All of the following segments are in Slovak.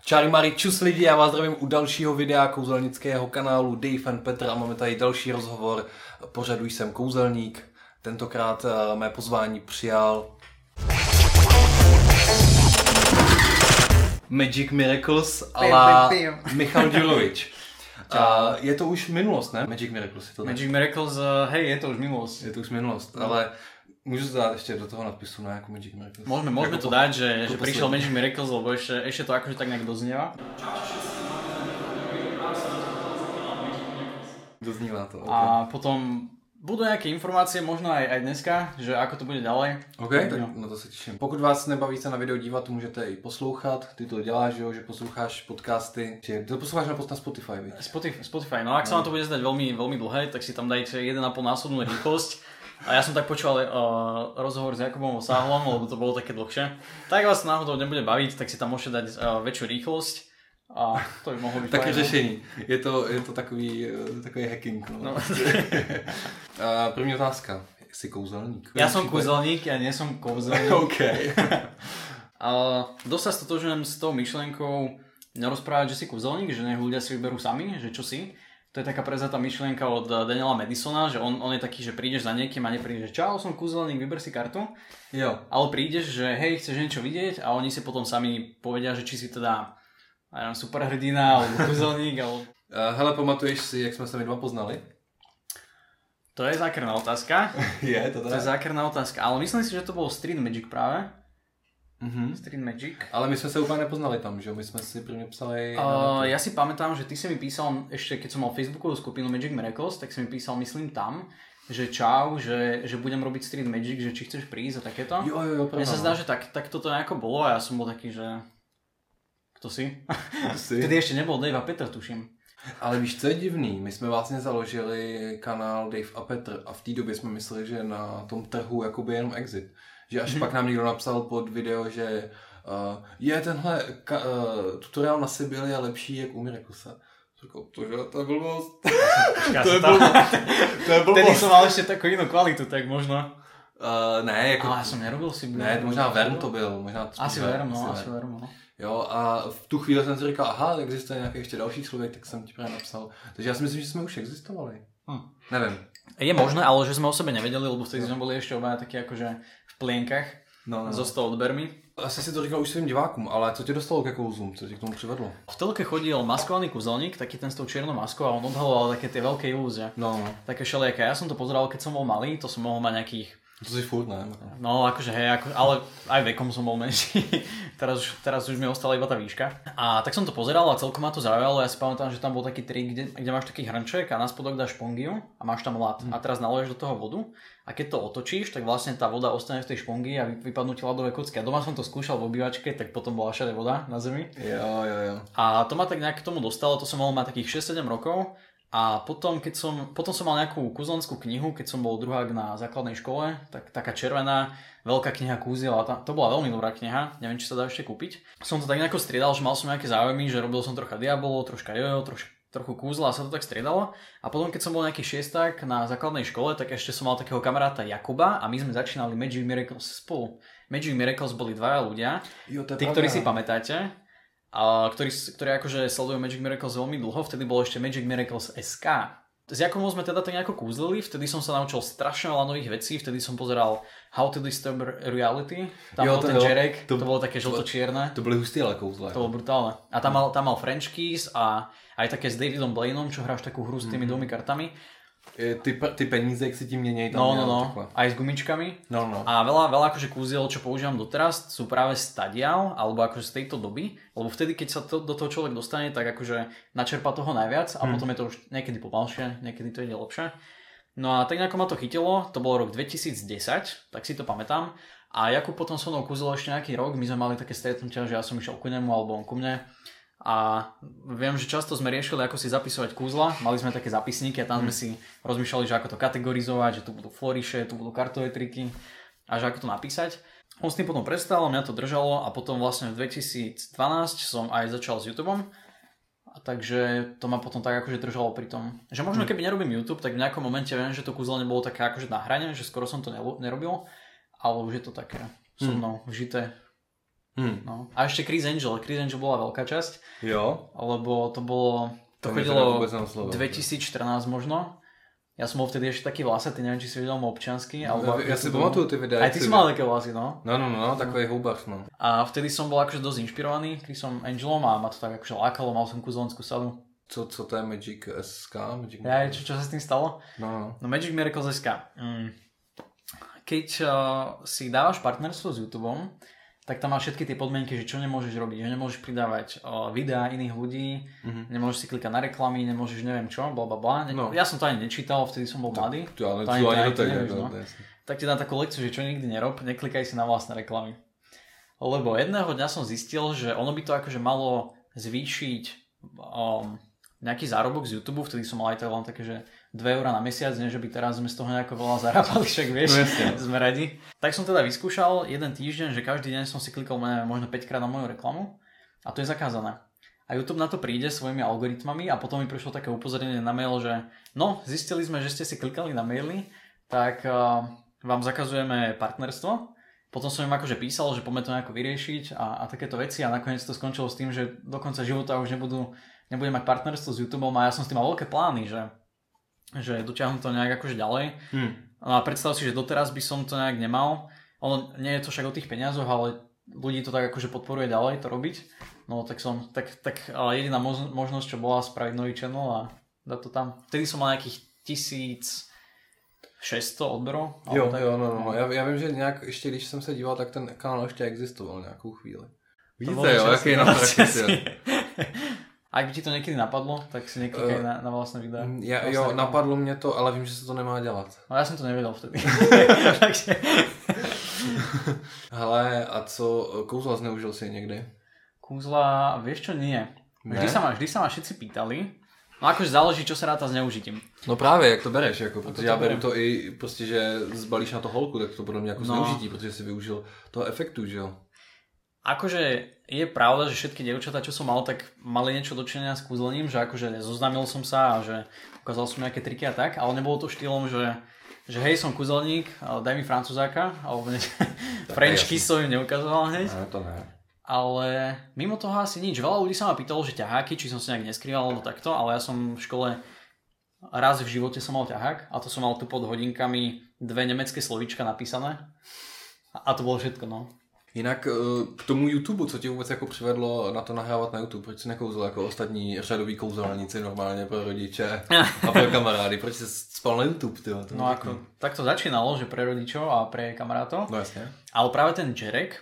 Čári Mari, čus lidi, já vás zdravím u dalšího videa kouzelnického kanálu Dave and Petr a máme tady další rozhovor pořadu Jsem kouzelník. Tentokrát mé pozvání přijal Magic Miracles a Michal Ďurovič. Je to už minulost, ne? Magic Miracles je to Magic Miracles, hej, je to už minulost. Je to už minulost, ale můžu to dát ještě do toho nadpisu na jako Magic Miracles. Môžeme to dať, že prišiel Magic Miracles, lebo ešte to akože tak nejak doznieva. Doznívá to, okay. A potom budú nejaké informácie, možno aj dneska, že ako to bude ďalej. OK, tak na to se těším. Pokud vás nebaví se na video dívat, to můžete i poslouchat. Ty to děláš, že posloucháš podcasty. Ty to posloucháš na Spotify, víš? Spotify, no ak sa vám to bude zdať veľmi, veľmi dlhé, tak si tam dajte 1,5 násobnú rýchlosť. A ja som tak počúval rozhovor s Jakubom Osáhlom, lebo to bolo také dlhšie. Tak vás náhodou nebude baviť, tak si tam môžete dať väčšiu rýchlosť. A to by mohlo byť také řešení. Je to takový hacking. No. První otázka. Jsi kouzelník? Ja som kouzelník, ja nie som kouzelník. OK. Dosť sa stotožujem s tou myšlienkou nerozprávať, že si kouzelník, že nech ľudia si vyberú sami, že čo si. To je taká prezatá myšlienka od Daniela Madisona, že on je taký, že prídeš za niekým a neprídeš, že čau, som kúzelník, vyber si kartu. Jo. Ale prídeš, že hej, chceš niečo vidieť a oni si potom sami povedia, že či si teda superhrdina alebo kúzelník. Hele, pamatuješ si, jak sme sa my dva poznali? To je zákerná otázka. Je to tak? To je zákerná otázka, ale myslím si, že to bol Street Magic práve. Street Magic. Ale my jsme se úplně nepoznali tam, že? My jsme si prvně psali... Ja si pamätám, že ty si mi písal, ešte keď som mal Facebookovú skupinu Magic Miracles, tak si mi písal, myslím tam, že čau, že budem robiť Street Magic, že či chceš prísť a takéto. Jo, mne sa zdá, že tak toto nejako bolo a ja som bol taký, že... Kto si? Vtedy ešte nebol Dave a Petr, tuším. Ale víš, co je divný? My jsme vlastně založili kanál Dave a Petr a v té době jsme mysleli, že na tom trhu jakoby jenom exit. Že až pak nám někdo napsal pod video, že tenhle tutoriál na Sibyl je lepší jak u Miraclesa. Říkal, to je blbost. To je blbost. Tedy som mal ešte takú inú kvalitu, tak možno. Ne, jako... Ale ja som nerobil Sibyl. Ne, možná Verm to byl. Asi Verm, no. Jo, a v tu chvíli jsem si říkal, aha, existuje nějaký ještě další člověk, tak jsem ti právě napsal. Takže já si myslím, že jsme už existovali. Nevím. Je možné, ale že sme o sebe nevedeli, lebo vtedy sme boli ešte obaja takí akože v plienkach. No. Zostal odbermi. Asi si to říkal už svým divákům, ale co tě dostalo ke kouzlům? Co tě k tomu přivedlo? V telke chodil maskovaný kúzelník, taký ten s tou čiernou maskou a on odhaloval také tie veľké ilúzie. No. Také všelijaké. Ja som to pozeral, keď som bol malý, to som mohol mať nejakých... To si furt, ne? No, akože hej, ale aj vekom som bol menší. teraz už mi ostala iba tá výška. A tak som to pozeral a celkom ma to zaujalo. Ja si pamätám, že tam bol taký trik, kde máš taký hrnček a na spodok dáš špongiu a máš tam ľad. A teraz naleješ do toho vodu a keď to otočíš, tak vlastne tá voda ostane v tej špongi a vypadnú ti ľadové kocky. A doma som to skúšal v obývačke, tak potom bola všade voda na zemi. Jo. A to ma tak nejak k tomu dostalo, to som mohol mať takých 6-7 rokov. A potom som mal nejakú kúzelnickú knihu, keď som bol druhák na základnej škole, tak taká červená, veľká kniha kúziel a to bola veľmi dobrá kniha, neviem, či sa dá ešte kúpiť. Som to tak nejako striedal, že mal som nejaké záujmy, že robil som trocha diabolov, troška jojo, trochu kúzla a sa to tak striedalo. A potom, keď som bol nejaký šiesták na základnej škole, tak ešte som mal takého kamaráta Jakuba a my sme začínali Magic Miracles spolu. Magic Miracles boli dvaja ľudia, tí, ktorí si pamätáte. Ktorí akože sledujú Magic Miracles veľmi dlho, vtedy bolo ešte Magic Miracles SK. S Jakobom sme teda tak nejako kúzlili, vtedy som sa naučil strašne veľa nových vecí, vtedy som pozeral How to Disturb Reality, tam bol ten Jerek, to bolo také žlto-čierne. To boli husté ale kouzle. To bolo brutálne. A tam mal French Keys a aj také s Davidom Blaineom, čo hráš takú hru s tými dvomi kartami. Ty peníze, jak si ti měněj tam. No. Aj s gumičkami. No. A veľa akože kúziel, čo používam doteraz, sú práve stadial, alebo akože z tejto doby. Lebo vtedy, keď sa do toho človek dostane, tak akože načerpa toho najviac a potom je to už niekedy pomalšie, niekedy to ide lepšie. No a tak nejako ma to chytilo, to bol rok 2010, tak si to pamätám. A Jakub potom so mnou kúzil ešte nejaký rok, my sme mali také stretnutia, že ja som išiel ku nemu alebo on ku mne. A viem, že často sme riešili, ako si zapisovať kúzla. Mali sme také zapisníky a tam sme si rozmýšľali, že ako to kategorizovať, že tu budú floriše, tu budú kartové triky a že ako to napísať. On s tým potom prestal, mňa to držalo a potom vlastne v 2012 som aj začal s YouTubeom. A takže to ma potom tak akože držalo pri tom, že možno keby nerobím YouTube, tak v nejakom momente viem, že to kúzlo nebolo také akože na hrane, že skoro som to nerobil, ale už je to také so mnou vžité No. A ešte Chris Angel bola veľká časť. Jo. Lebo to chodilo 2014 možno. Ja som bol vtedy ešte taký vlasatý, neviem, či si videl môj občiansky. Ja si pamatuju ty videa. Aj ty si mal také vlasy, no? No, takový houbař, no. A vtedy som bol akože dosť inšpirovaný Chrisom Angelom a ma to tak akože lákalo, mal som kúzelnickú sadu. Co to je Magic SK? Čo sa s tým stalo? No Magic Miracles SK. Keď si dávaš partnerstvo s YouTubeom, tak tam máš všetky tie podmienky, že čo nemôžeš robiť, že nemôžeš pridávať videá iných ľudí, nemôžeš si klikať na reklamy, nemôžeš neviem čo, blablabla. No. Ja som to ani nečítal, vtedy som bol mladý. Tak ti dám takú lekciu, že čo nikdy nerob, neklikaj si na vlastné reklamy. Lebo jedného dňa som zistil, že ono by to akože malo zvýšiť nejaký zárobok z YouTube, vtedy som mal aj len také, že 2 € na mesiac, nie že by teraz sme z toho nejako veľa zarábali, však vieš, sme radi. Tak som teda vyskúšal jeden týždeň, že každý deň som si klikol možno 5 krát na moju reklamu a to je zakázané. A YouTube na to príde svojimi algoritmami a potom mi prišlo také upozornenie na mail, že no, zistili sme, že ste si klikali na maily, tak vám zakazujeme partnerstvo. Potom som im akože písal, že poďme to nejako vyriešiť a takéto veci a nakoniec to skončilo s tým, že do konca života už nebudem mať partnerstvo s YouTubeom a ja som s tým mal veľké plány, že dotiahnem to nejak akože ďalej. No a predstav si, že doteraz by som to nejak nemal. Ono nie je to však o tých peniazoch, ale ľudí to tak akože podporuje ďalej to robiť. No tak jediná možnosť, čo bola spraviť nový channel a dať to tam. Vtedy som mal nejakých 1600 odberov. Jo, no. Já vím, že nějak, ještě když jsem se díval, tak ten kanál ještě existoval nějakou chvíli. Víte jo, jaký je na Ak by ti to niekedy napadlo, tak si neklikaj na vlastné videá. Jo, napadlo mě to, ale vím, že se to nemá dělat. No ja som to nevedel vtedy. Hele, a co, kouzla zneužil si někdy? Kouzla, vieš čo, nie. Vždy sa ma všetci pýtali. No akože záleží, čo sa ráta zneužitím. No právě, jak to bereš, jako, protože já beru to i prostě, že zbalíš na to holku, tak to podle mě jako zneužití, protože si využil toho efektu, že jo? Akože je pravda, že všetky dievčatá, čo som mal, tak mali niečo dočinenia s kúzlením, že akože zoznámil som sa a že ukázal som nejaké triky a tak, ale nebolo to štýlom, že hej, som kúzelník, daj mi francúzáka, alebo French kiss som im neukazoval hneď. No, to ne. Ale mimo toho asi nič. Veľa ľudí sa ma pýtalo, že ťaháky, či som sa nejak neskrýval alebo takto, ale ja som v škole raz v živote som mal ťahák a to som mal tu pod hodinkami 2 nemecké slovíčka napísané a to bolo všetko, no. Jinak k tomu YouTube, co tě vůbec jako přivedlo na to nahrávat na YouTube? Proč jsi nekouzl jako ostatní řadoví kouzelníci normálně pro rodiče a pro kamarády? Proč jsi spal na YouTube? Tyjo? No ako, tak to začínalo, že pre rodičov a pre kamarátov. No jasne. Ale práve ten Jerek,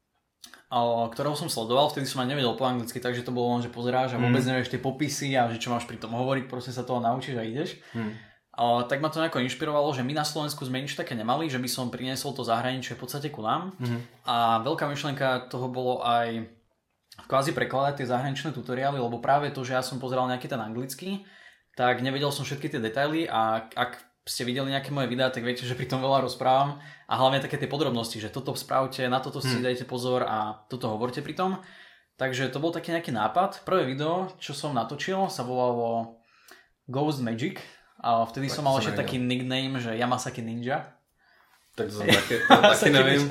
ktorého som sledoval, vtedy som aj nevedel po anglicky, takže to bolo len, že pozeráš a vôbec nevieš tie popisy a že čo máš pri tom hovoriť, proste sa toho naučíš a ideš. Tak ma to nejako inšpirovalo, že my na Slovensku sme nič také nemali, že by som priniesol to zahraničie v podstate ku nám. A veľká myšlienka toho bolo aj kvázi prekladať tie zahraničné tutoriály, lebo práve to, že ja som pozeral nejaký ten anglický, tak nevedel som všetky tie detaily a ak ste videli nejaké moje videá, tak viete, že pri tom veľa rozprávam a hlavne také tie podrobnosti, že toto spravte, na toto si dajte pozor a toto hovorte pri tom. Takže to bol taký nejaký nápad. Prvé video, čo som natočil, sa volalo Ghost Magic. A vtedy tak som mal ešte taký nickname, že Yamasaki Ninja. Tak to som taky nevím.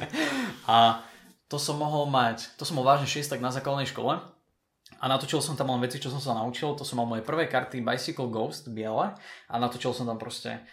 A to som mohol vážne 6 tak na základnej škole. A natočil som tam len veci, čo som sa naučil. To som mal moje prvé karty Bicycle Ghost, biele. A natočil som tam proste,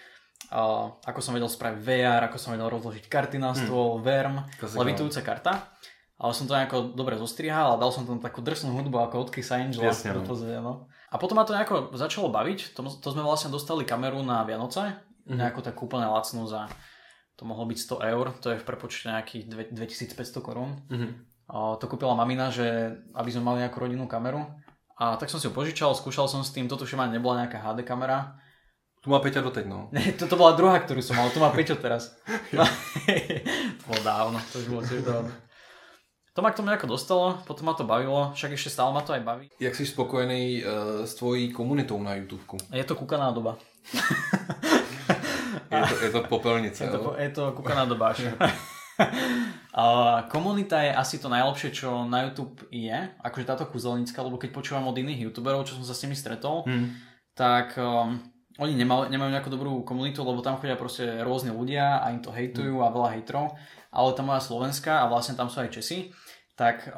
ako som vedel spraviť VR, ako som vedel rozložiť karty na stôl, Verm, levitujúca karta. Ale som to nejako dobre zostrihal a dal som tam takú drsnú hudbu ako od Chris Angela. Jasne, no. A potom ma to nejako začalo baviť. To sme vlastne dostali kameru na Vianoce. Nejako tak úplne lacnú za, to mohlo byť 100 eur. To je v prepočte nejakých 2500 korún. To kúpila mamina, že aby sme mali nejakú rodinnú kameru. A tak som si ju požičal, skúšal som s tým. Toto už nebola nejaká HD kamera. Tu má Peťa doteď, no. Toto bola druhá, ktorú som mal. Tu má Peťo teraz. To bolo dávno. To už bolo tiež dávno. To ma k tomu nejako dostalo, potom ma to bavilo, však ešte stále ma to aj baví. Jak jsi spokojený s tvojí komunitou na YouTubeku? Je to kúkaná doba. je to popelnice, je to kúkaná doba. Komunita je asi to najlepšie, čo na YouTube je, akože táto kúzelnícka, lebo keď počúvam od iných YouTuberov, čo som sa s nimi stretol, tak oni nemajú nejakú dobrú komunitu, lebo tam chodia proste rôzni ľudia a im to hejtujú a veľa hejtrov, ale tá moja slovenská a vlastne tam sú aj Česi, tak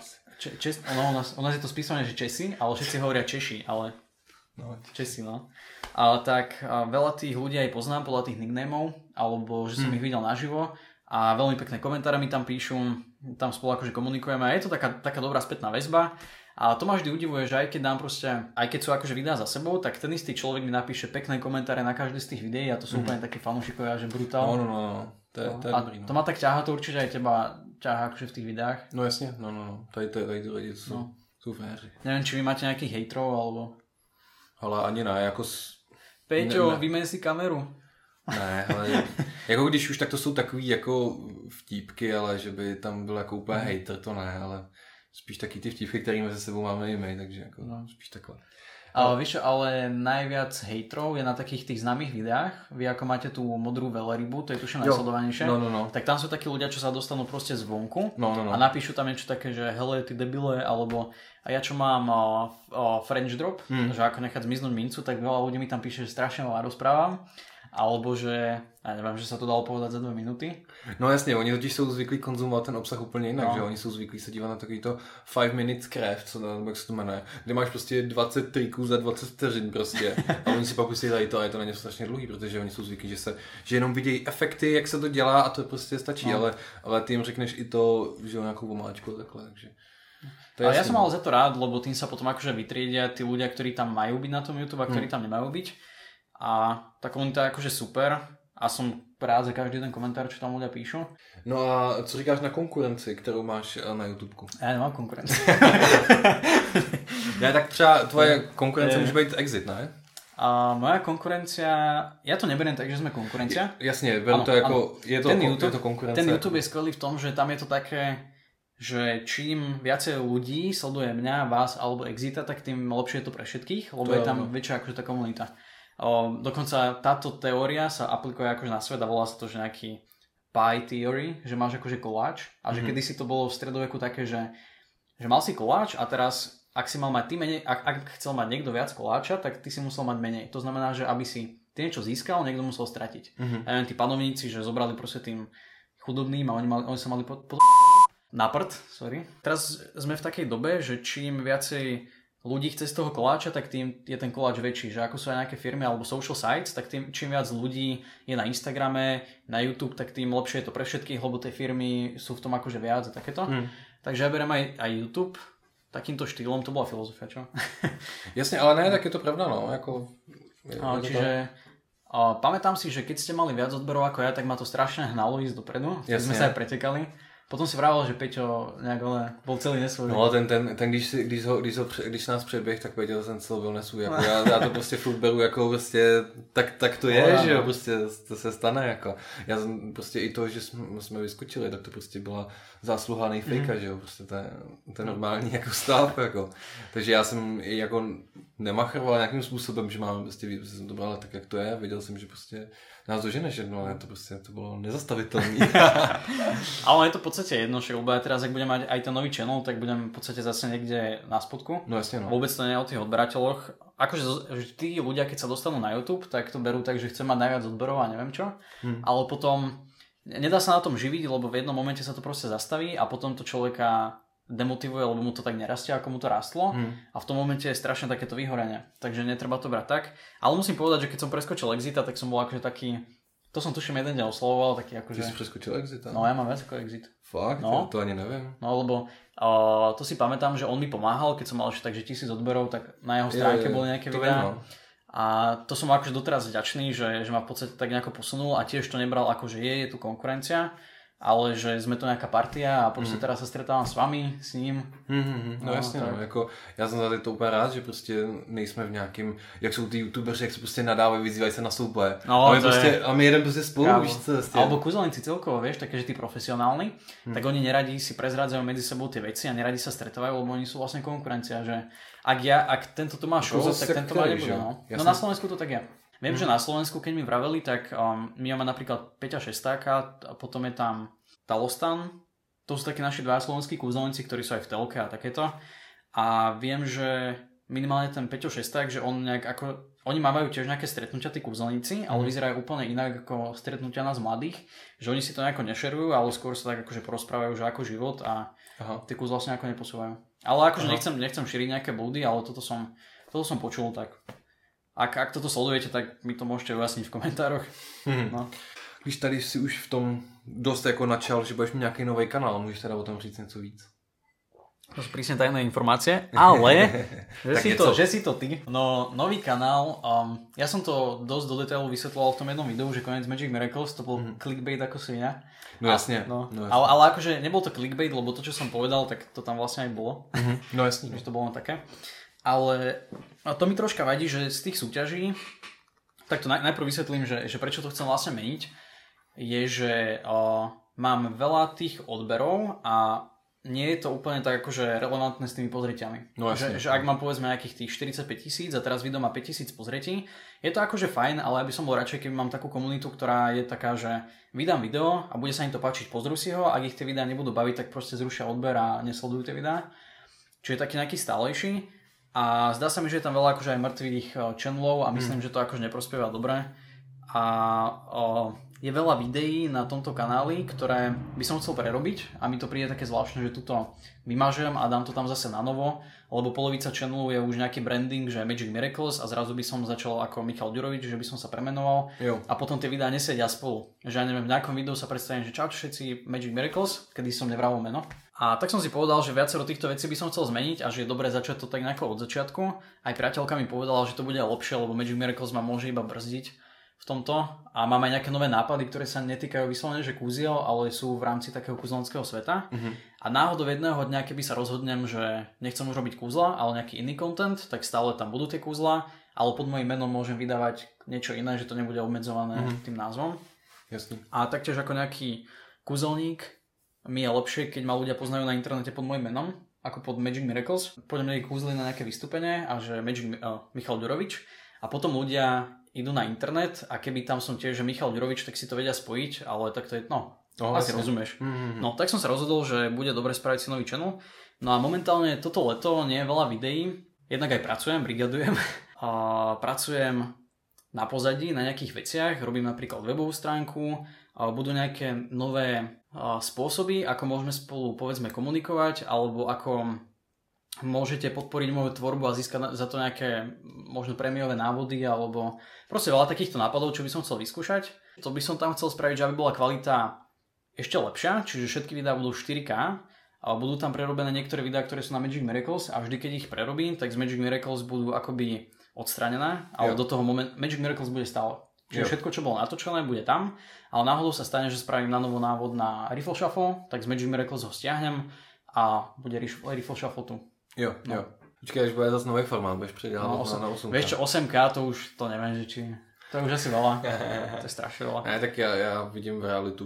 u nás je to spísané, že Česi, ale všetci hovoria Češi, ale Česi, no. Ale tak veľa tých ľudí aj poznám podľa tých nicknameov, alebo že som ich videl naživo a veľmi pekné komentáre mi tam píšu, tam spolu akože komunikujeme a je to taká dobrá spätná väzba. A to ma vždy udivuje, že aj keď dám proste, aj keď sú akože videá za sebou, tak ten istý človek mi napíše pekné komentáre na každé z tých videí a to sú úplne takí fanúšikovia, že brutál. No. To je dobrý, no. To ma tak ťaha, to určite aj teba ťaha akože v tých videách. No jasne, no. Tady lidi sú féři. Neviem, či vy máte nejakých hejtrov, alebo... Ale ani ne, jako... Peťo, vymen si kameru. Ne, ale jako když už, tak to jsou takový jako vtípky, ale že by tam byl jako úplně hejter, to ne, ale spíš taky ty vtípky, které mezi sebou máme i my, takže jako spíš takhle. Víš, ale najviac hejtrov je na takých tých známych videách. Vy ako máte tú modrú veľrybu, to je tuším najsledovanejšie. No. Tak tam sú takí ľudia, čo sa dostanú proste zvonku no. a napíšu tam niečo také, že hele, ty debile, alebo a ja čo mám French drop, že ako nechať zmiznúť mincu, tak veľa ľudí mi tam píše, že strašne veľa rozprávam. Alebo že, ja neviem, že sa to dalo povedať za 2 minuty. No jasně, oni totiž jsou zvyklí konzumovat ten obsah úplně jinak, že oni jsou zvyklí se dívat na takovýto 5 minutes craft, jak se to jmenuje, kde máš prostě 20 triků za 20 vteřin prostě a oni si pak pustí tady to a je to na ně strašně dlouhý, protože oni jsou zvyklí, že jenom vidějí efekty, jak se to dělá a to prostě stačí, ale ty jim řekneš i to, že jo, nějakou omáčku takhle, takže... Ale ja som mal za to rád, lebo tým sa potom akože vytriedia tí ľudia, ktorí tam majú byť na tom YouTube a ktorí tam nemajú byť. A tá komunita je akože super a som rád za každý ten komentár, čo tam ľudia píšu. No a co říkáš na konkurenci, kterou máš na YouTubeku? Ja nemám konkurenci. Ne, tak třeba tvoje konkurence může být Exit, ne? A moja konkurencia, ja to neberiem tak, že sme konkurencia. Jasne, beriem to ako, je to konkurencia. Ten YouTube je skvelý v tom, že tam je to také, že čím viacej ľudí sleduje mňa, vás alebo Exita, tak tým lepšie je to pre všetkých, lebo je tam väčšia akože tá komunita. Dokonca táto teória sa aplikuje akože na svet a volá sa to, že nejaký pie theory, že máš akože koláč a že kedysi to bolo v stredoveku také, že mal si koláč a teraz ak si mal mať ty menej, ak chcel mať niekto viac koláča, tak ty si musel mať menej. To znamená, že aby si ty niečo získal, niekto musel stratiť. Ja neviem, tí panovníci, že zobrali proste tým chudobným a oni sa mali na prd, sorry. Teraz sme v takej dobe, že čím viacej ľudí chce z toho koláča, tak tým je ten koláč väčší. Že ako sú aj nejaké firmy alebo social sites, tak tým čím viac ľudí je na Instagrame, na YouTube, tak tým lepšie je to pre všetkých, lebo tie firmy sú v tom akože viac a takéto. Takže ja beriem aj YouTube takýmto štýlom, to bola filozofia, čo? Jasne, ale ne, tak je to pravda, no. Čiže pamätám si, že keď ste mali viac odberov ako ja, tak ma to strašne hnalo ísť dopredu. Keď sme sa aj pretekali. Potom si vravel, že Peťo nejak bol celý nesvůj. No ten když nás předběh, tak Peťo ten celý byl nesvůj. Jako já to prostě furt beru jako prostě, tak to je, že jo, prostě to se stane jako. Já jsem prostě i to, že jsme vyskočili, tak to prostě byla zásluha nejfejka, že jo, prostě to je normální jako stav, jako. Takže já jsem i jako nemachroval nějakým způsobem, že máme prostě, jsem to bral tak, jak to je, viděl jsem, že prostě nás doženeš jedno, ale to bolo nezastaviteľné. Ale je to v podstate jedno, že lebo ja teraz, ak budem mať aj ten nový channel, tak budem v podstate zase niekde na spodku. No jasne, no. Vôbec to nie je o tých odberateľoch. Akože že tí ľudia, keď sa dostanú na YouTube, tak to berú tak, že chcem mať najviac odberov a neviem čo. Ale potom nedá sa na tom živiť, lebo v jednom momente sa to proste zastaví a potom to človeka demotivuje, lebo mu to tak nerastie, ako mu to rastlo a v tom momente je strašne takéto vyhorenie, takže netreba to brať tak, ale musím povedať, že keď som preskočil Exita, tak som bol akože taký, to som tuším jeden deň oslovoval, taký akože... Ty si preskočil Exita? No ja mám viac ako Exit. Fakt? No. To ani neviem. No lebo to si pamätám, že on mi pomáhal, keď som mal ešte takže 1000 odberov, tak na jeho stránke boli nejaké videá. A to som akože doteraz vďačný, že ma v podstate tak nejako posunul a tiež to nebral ako, že je tu konkurencia, ale že sme to nejaká partia a prostě teraz sa stretávam s vami, s ním. No jasně, no, jako já jsem za to úplně rád, že prostě nejsme v nějakým, jak jsou ty youtubeři, jak se prostě nadávají, vyzývají se na souboje. No, a my jedeme prostě spolu, víš co? Prostě. Alebo kúzelníci celkovo, vieš, také, že tí profesionálni, tak oni neradi si prezrádzajú medzi sebou tie veci a neradi sa stretávajú, lebo oni sú vlastne konkurencia, že ak tento to má show, tak tento má nebude. No na Slovensku to tak je. Viem, že na Slovensku, keď mi vraveli, tak my máme napríklad Peťa Šestáka a potom je tam Talostan. To sú takí naši dva slovenskí kúzelníci, ktorí sú aj v telke a takéto. A viem, že minimálne ten Peťo Šesták, že on nejak ako... Oni majú tiež nejaké stretnutia, tí kúzelníci, ale vyzerajú úplne inak ako stretnutia nás mladých. Že oni si to nejako nešerujú, ale skôr sa tak akože porozprávajú, že ako život a Aha. Tie kúzla sa nejako neposúvajú. Ale akože nechcem šíriť nejaké blúdy, ale toto som počul, tak ak toto sledujete, tak mi to môžete ujasniť v komentároch. No. Když tady si už v tom dost jako načal, že budeš mít nějaký nový kanál, můžeš teda o tom říct něco víc? To sú prísne tajné informácie, ale že si to ty. No, nový kanál, ja som to dosť do detailu vysvetloval v tom jednom videu, že koniec Magic Miracles, to bol clickbait ako svinia. No jasne. Ale akože nebol to clickbait, lebo to, čo som povedal, tak to tam vlastne aj bolo. No jasne. Že to bolo také. Ale to mi troška vadí, že z tých súťaží, tak to najprv vysvetlím, že prečo to chcem vlastne meniť, je, že mám veľa tých odberov a nie je to úplne tak akože relevantné s tými pozrieťami. No, že ak mám povedzme nejakých tých 45 000 a teraz video má 5 000 pozretí, je to akože fajn, ale ja by som bol radšej, keby mám takú komunitu, ktorá je taká, že vydám video a bude sa im to páčiť, pozrú si ho, ak ich tie videá nebudú baviť, tak proste zrušia odber a nesledujú tie videá. Čiže taký nejaký stálejší. A zdá sa mi, že je tam veľa akože aj mŕtvych channelov a myslím, že to akože neprospieva dobre. A je veľa videí na tomto kanáli, ktoré by som chcel prerobiť a mi to príde také zvláštne, že tuto vymažem a dám to tam zase na novo, lebo polovica channelu je už nejaký branding, že Magic Miracles a zrazu by som začal ako Michal Ďurovič, že by som sa premenoval a potom tie videá nesedia spolu. Že ja neviem, v nejakom videu sa predstavím, že čau všetci Magic Miracles, kedy som nevral meno. A tak som si povedal, že viacero týchto vecí by som chcel zmeniť a že je dobré začať to tak nejako od začiatku. Aj priateľka mi povedala, že to bude lepšie, lebo Magic Miracles ma môže iba brzdiť v tomto a mám aj nejaké nové nápady, ktoré sa netýkajú vyslovene, že kúziel, ale sú v rámci takého kúzelnického sveta. A náhodou jedného dňa, keby sa rozhodnem, že nechcem už robiť kúzla, ale nejaký iný content, tak stále tam budú tie kúzla, ale pod mojím menom môžem vydávať niečo iné, že to nebude obmedzované tým názvom. Jasný. A taktiež ako nejaký kúzelník mi je lepšie, keď ma ľudia poznajú na internete pod mojím menom, ako pod Magic Miracles. Pôjdem niekde kúzli na nejaké vystúpenie a že Michal Ďurovič a potom ľudia idú na internet a keby tam som tiež, že Michal Ďurovič, tak si to vedia spojiť, ale tak to je, asi rozumieš. No, tak som sa rozhodol, že bude dobre spraviť si nový channel. No a momentálne toto leto nie je veľa videí, jednak aj pracujem, brigadujem, a pracujem na pozadí, na nejakých veciach, robím napríklad webovú stránku, budú nejaké nové spôsoby, ako môžeme spolu povedzme komunikovať, alebo ako môžete podporiť moju tvorbu a získať za to nejaké možno prémiové návody alebo proste veľa takýchto nápadov, čo by som chcel vyskúšať. To by som tam chcel spraviť, že aby bola kvalita ešte lepšia, čiže všetky videá budú 4K a budú tam prerobené niektoré videá, ktoré sú na Magic Miracles a vždy keď ich prerobím, tak z Magic Miracles budú akoby odstranené, ale do toho Magic Miracles bude stále. Čiže všetko, čo bolo natočené, bude tam, ale náhodou sa stane, že spravím na novo návod na Riffle Shuffle, tak z Magic Miracles ho stiahnem a bude Riffle Shuffle tu. Jo. Počkej, až bude zase nový formát, budeš předělat na 8K. Vieš čo, 8K to už, to neviem, že či... To je už asi veľa. To je strašne veľa. Ne, tak já vidím realitu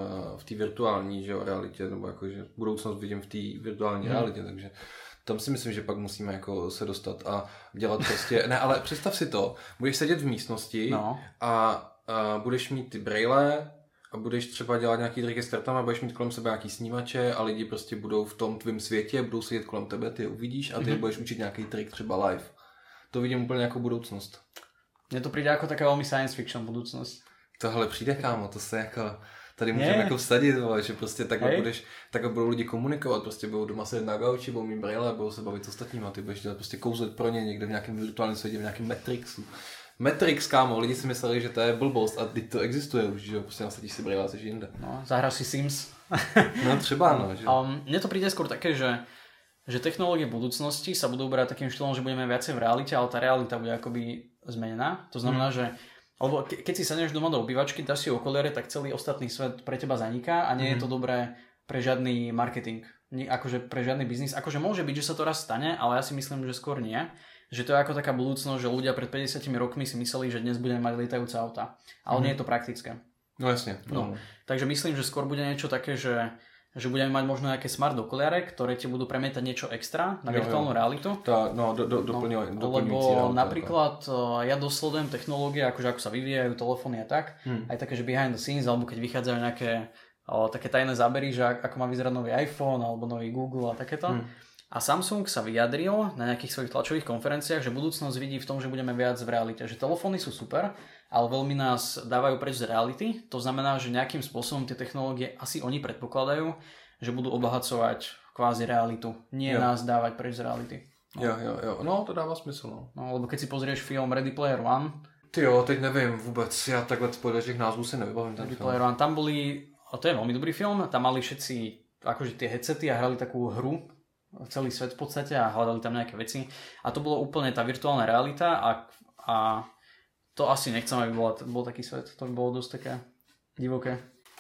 v té virtuální, že jo, realitě, nebo jakože budoucnost vidím v té virtuální realitě, takže tam si myslím, že pak musíme jako se dostat a dělat prostě, ne, ale představ si to, budeš sedět v místnosti a budeš mít ty brejle a budeš třeba dělat nějaký triky s kartama, budeš mít kolem sebe nějaký snímače a lidi prostě budou v tom tvém světě, budou sedět kolem tebe, ty je uvidíš a ty budeš učit nějaký trik třeba live. To vidím úplně jako budoucnost. Mně to přijde jako taková velmi science fiction budoucnost. Tohle přijde, kámo, to se jako... Tady můžeme jako vsadit, že prostě takhle budou lidi komunikovat, prostě budou doma sedět na gauči, budou mít brýle, budou se bavit s ostatníma, ty budeš dělat prostě kouzlet pro ně někde v nějakém virtuálním světě, v nějakém Matrixu. Matrix, kámo, lidi si mysleli, že to je blbost a teď to existuje už, že jo, prostě nasadíš si brýle a jsi jinde. No, zahráš si Sims. No třeba, no. Že... Mne to príde skôr také, že technológie budúcnosti sa budú brať takým štýlom, že budeme viacej v realite, ale tá realita bude akoby zmenená. To znamená, že alebo keď si sadneš doma do obývačky, dáš si okuliare, tak celý ostatný svet pre teba zaniká a nie je to dobré pre žiadny marketing, akože pre žiadny biznis. Akože môže byť, že sa to raz stane, ale ja si myslím, že skôr nie. Že to je ako taká budúcnosť, že ľudia pred 50 rokmi si mysleli, že dnes budeme mať lietajúce auta. Ale nie je to praktické. No jasne. No. Takže myslím, že skôr bude niečo také, že budeme mať možno nejaké smart okuliare, ktoré ti budú premietať niečo extra na virtuálnu realitu. Doplňujúci lebo napríklad ja dosledujem technológie, akože ako sa vyvíjajú telefóny a tak, aj také, že behind the scenes, alebo keď vychádzajú nejaké také tajné zábery, že ako má vyzerať nový iPhone alebo nový Google a takéto. A Samsung sa vyjadril na nejakých svojich tlačových konferenciách, že budúcnosť vidí v tom, že budeme viac v realite. Že telefóny sú super, ale veľmi nás dávajú preč z reality. To znamená, že nejakým spôsobom tie technológie asi oni predpokladajú, že budú obohacovať kvázi realitu. Nie nás dávať preč z reality. No. Jo. No, to dává smysl, no. No, lebo keď si pozrieš film Ready Player One... Ty jo, teď nevím vůbec, já takhle podle těch názvů si nevybavím ten Ready film. Player One, tam boli, a to je veľmi dobrý film, tam mali všetci akože tie headsety a hrali takú hru, celý svet v podstate a hľadali tam nejaké veci. A to bolo úplne tá virtuálna realita a to asi nechcem, aby bol taký svet. To by bolo dosť také divoké.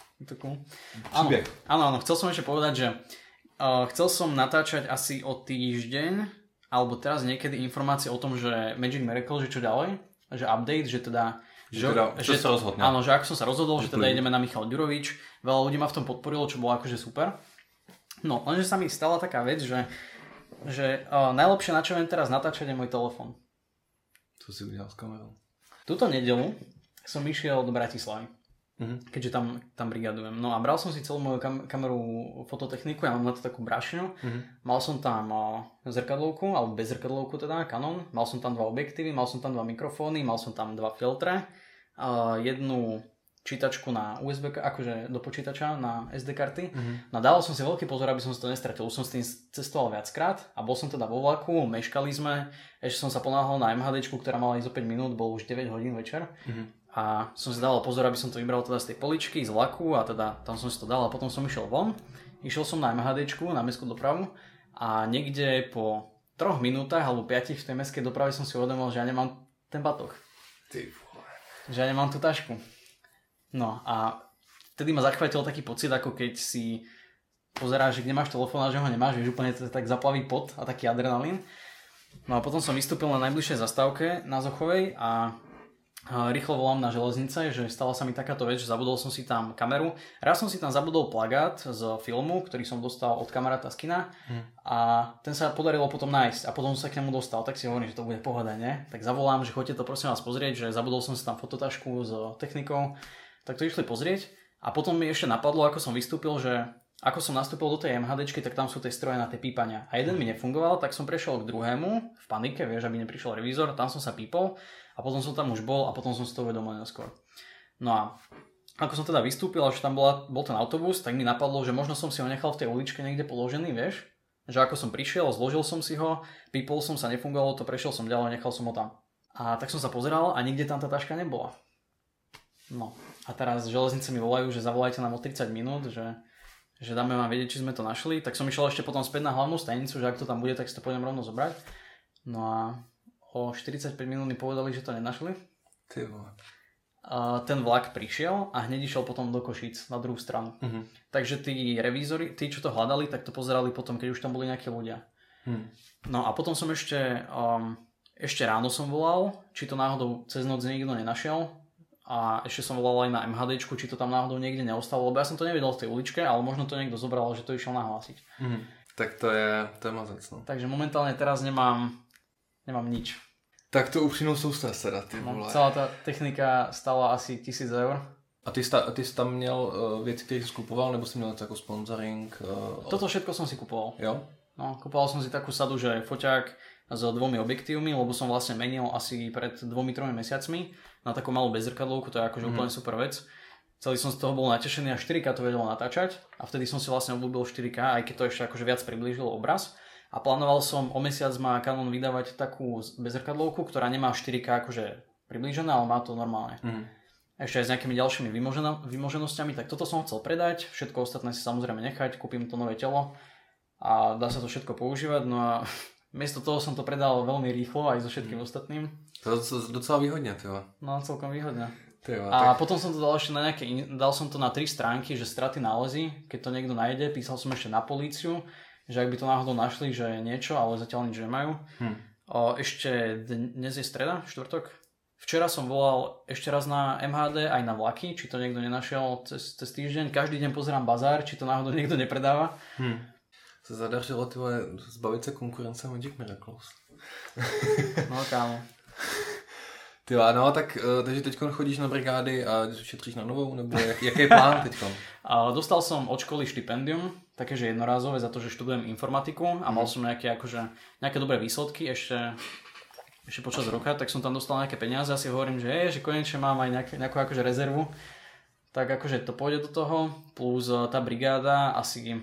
Áno, chcel som ešte povedať, že chcel som natáčať asi o týždeň, alebo teraz niekedy informácie o tom, že Magic Miracle, že čo ďalej, že update, že teda... Že sa rozhodne. Áno, že ako som sa rozhodol, že teda ideme na Michal Ďurovič. Veľa ľudí ma v tom podporilo, čo bolo akože super. No, lenže sa mi stala taká vec, že najlepšie, na čo viem teraz natáčať, je môj telefon. Co si udial s kamerou? Túto nedeľu som išiel do Bratislavy, keďže tam brigadujem. No a bral som si celú moju kameru fototechniku, ja mám na to takú brašňu. Mal som tam zrkadlovku, alebo bez zrkadlovku teda, Canon. Mal som tam 2 objektívy, mal som tam 2 mikrofóny, mal som tam 2 filtre, jednu čítačku na USB, akože do počítača na SD karty. No dával som si veľký pozor, aby som si to nestratil. Už som s tým cestoval viackrát a bol som teda vo vlaku, meškali sme, ešte som sa ponáhľal na MHDčku, ktorá mala ísť o 5 minút, bolo už 9 hodín večer. A som si dával pozor, aby som to vybral teda z tej poličky, z vlaku a teda tam som si to dal a potom som išiel von. Išiel som na MHDčku, na mestskú dopravu a niekde po 3 minútach alebo 5 v tej mestskej doprave som si uvedomil, že ja nemám ten batoh. Že ja nemám tú tašku. No a vtedy ma zachvátil taký pocit, ako keď si pozeráš, že kde máš telefón a že ho nemáš, vieš, úplne tak zaplaví pot a taký adrenalín. No a potom som vystúpil na najbližšej zastávke na Zochovej a rýchlo volám na železnice, že stala sa mi takáto vec, že zabudol som si tam kameru. Raz som si tam zabudol plagát z filmu, ktorý som dostal od kamaráta z kina a ten sa podarilo potom nájsť a potom som sa k nemu dostal, tak si hovorím, že to bude pohoda, ne? Tak zavolám, že choďte to prosím vás pozrieť, že zabudol som si tam fototašku s technikou. Tak to išli pozrieť a potom mi ešte napadlo, ako som vystúpil, že ako som nastúpil do tej MHDčky, tak tam sú tie stroje na tie pípania. A jeden mi nefungoval, tak som prešiel k druhému v panike, vieš, aby neprišiel revízor, tam som sa pípol a potom som tam už bol a potom som si to uvedomil neskôr. No a ako som teda vystúpil, až tam bol ten autobus, tak mi napadlo, že možno som si ho nechal v tej uličke niekde položený, vieš, že ako som prišiel, zložil som si ho, pípol som sa, nefungovalo to, prešiel som ďalej, nechal som ho tam. A tak som sa pozeral a nikde tam tá taška nebola. No a teraz železnice mi volajú, že zavolajte nám o 30 minút, že dáme vám vedieť, či sme to našli. Tak som išiel ešte potom späť na hlavnú stanicu, že ak to tam bude, tak si to pôjdem rovno zobrať. No a o 45 minút mi povedali, že to nenašli. Ty vole. Ten vlak prišiel a hneď išiel potom do Košíc na druhú stranu. Takže tí revízori, tí, čo to hľadali, tak to pozerali potom, keď už tam boli nejakí ľudia. No a potom som ešte ráno som volal, či to náhodou cez noc nikto nenašiel. A ešte som volal aj na MHDčku, či to tam náhodou niekde neostalo, lebo ja som to nevedel v tej uličke, ale možno to niekto zobral, že to išiel nahlásiť. Tak to je mazec, no. Takže momentálne teraz nemám nič. Tak to upřímnou sústrasť teda, ty vole. Celá tá technika stála asi 1000 eur. A ty jsi tam měl věci, které jsi kupoval, nebo jsi měl jako sponsoring? Toto všetko som si kupoval. Jo? No, kupoval som si takú sadu, že foťák s 2 objektívmi, lebo som vlastne menil asi pred 2-3 mesiacmi na takú malú bezzrkadlovku, to je akože úplne super vec. Celý som z toho bol natešený a 4K to vedelo natáčať a vtedy som si vlastne obľúbil 4K, aj keď to ešte akože viac priblížilo obraz. A plánoval som, o mesiac má Canon vydávať takú bezzrkadlovku, ktorá nemá 4K akože priblížené, ale má to normálne. Ešte aj s nejakými ďalšími vymoženosťami, tak toto som chcel predať, všetko ostatné si samozrejme nechať, kúpim to nové telo a dá sa to všetko používať, no a miesto toho som to predal veľmi rýchlo aj so všetkým ostatným. To je docela výhodne, tyva. No, celkom výhodne. Tyva, a potom som to dal ešte na dal som to na 3 stránky, že straty nálezy, keď to niekto nájde, písal som ešte na políciu, že ak by to náhodou našli, že niečo, ale zatiaľ nič nemajú. Ešte dnes je streda, štvrtok. Včera som volal ešte raz na MHD, aj na vlaky, či to niekto nenašiel cez týždeň. Každý deň pozerám bazár, či to náhodou niekto nepredáva. Se zadařilo zbavit se konkurence Magic Miracles. No kámo. Tyva, no tak, takže teď chodíš na brigády a šetříš na novou, nebo jaký je plán teď? Dostal som od školy štipendium, takéže jednorázové za to, že študujem informatiku a mal som nejaké dobré výsledky ešte počas roka, tak som tam dostal nejaké peniaze a si hovorím, že konečne mám aj nejakú akože rezervu, tak akože to pôjde do toho, plus tá brigáda asi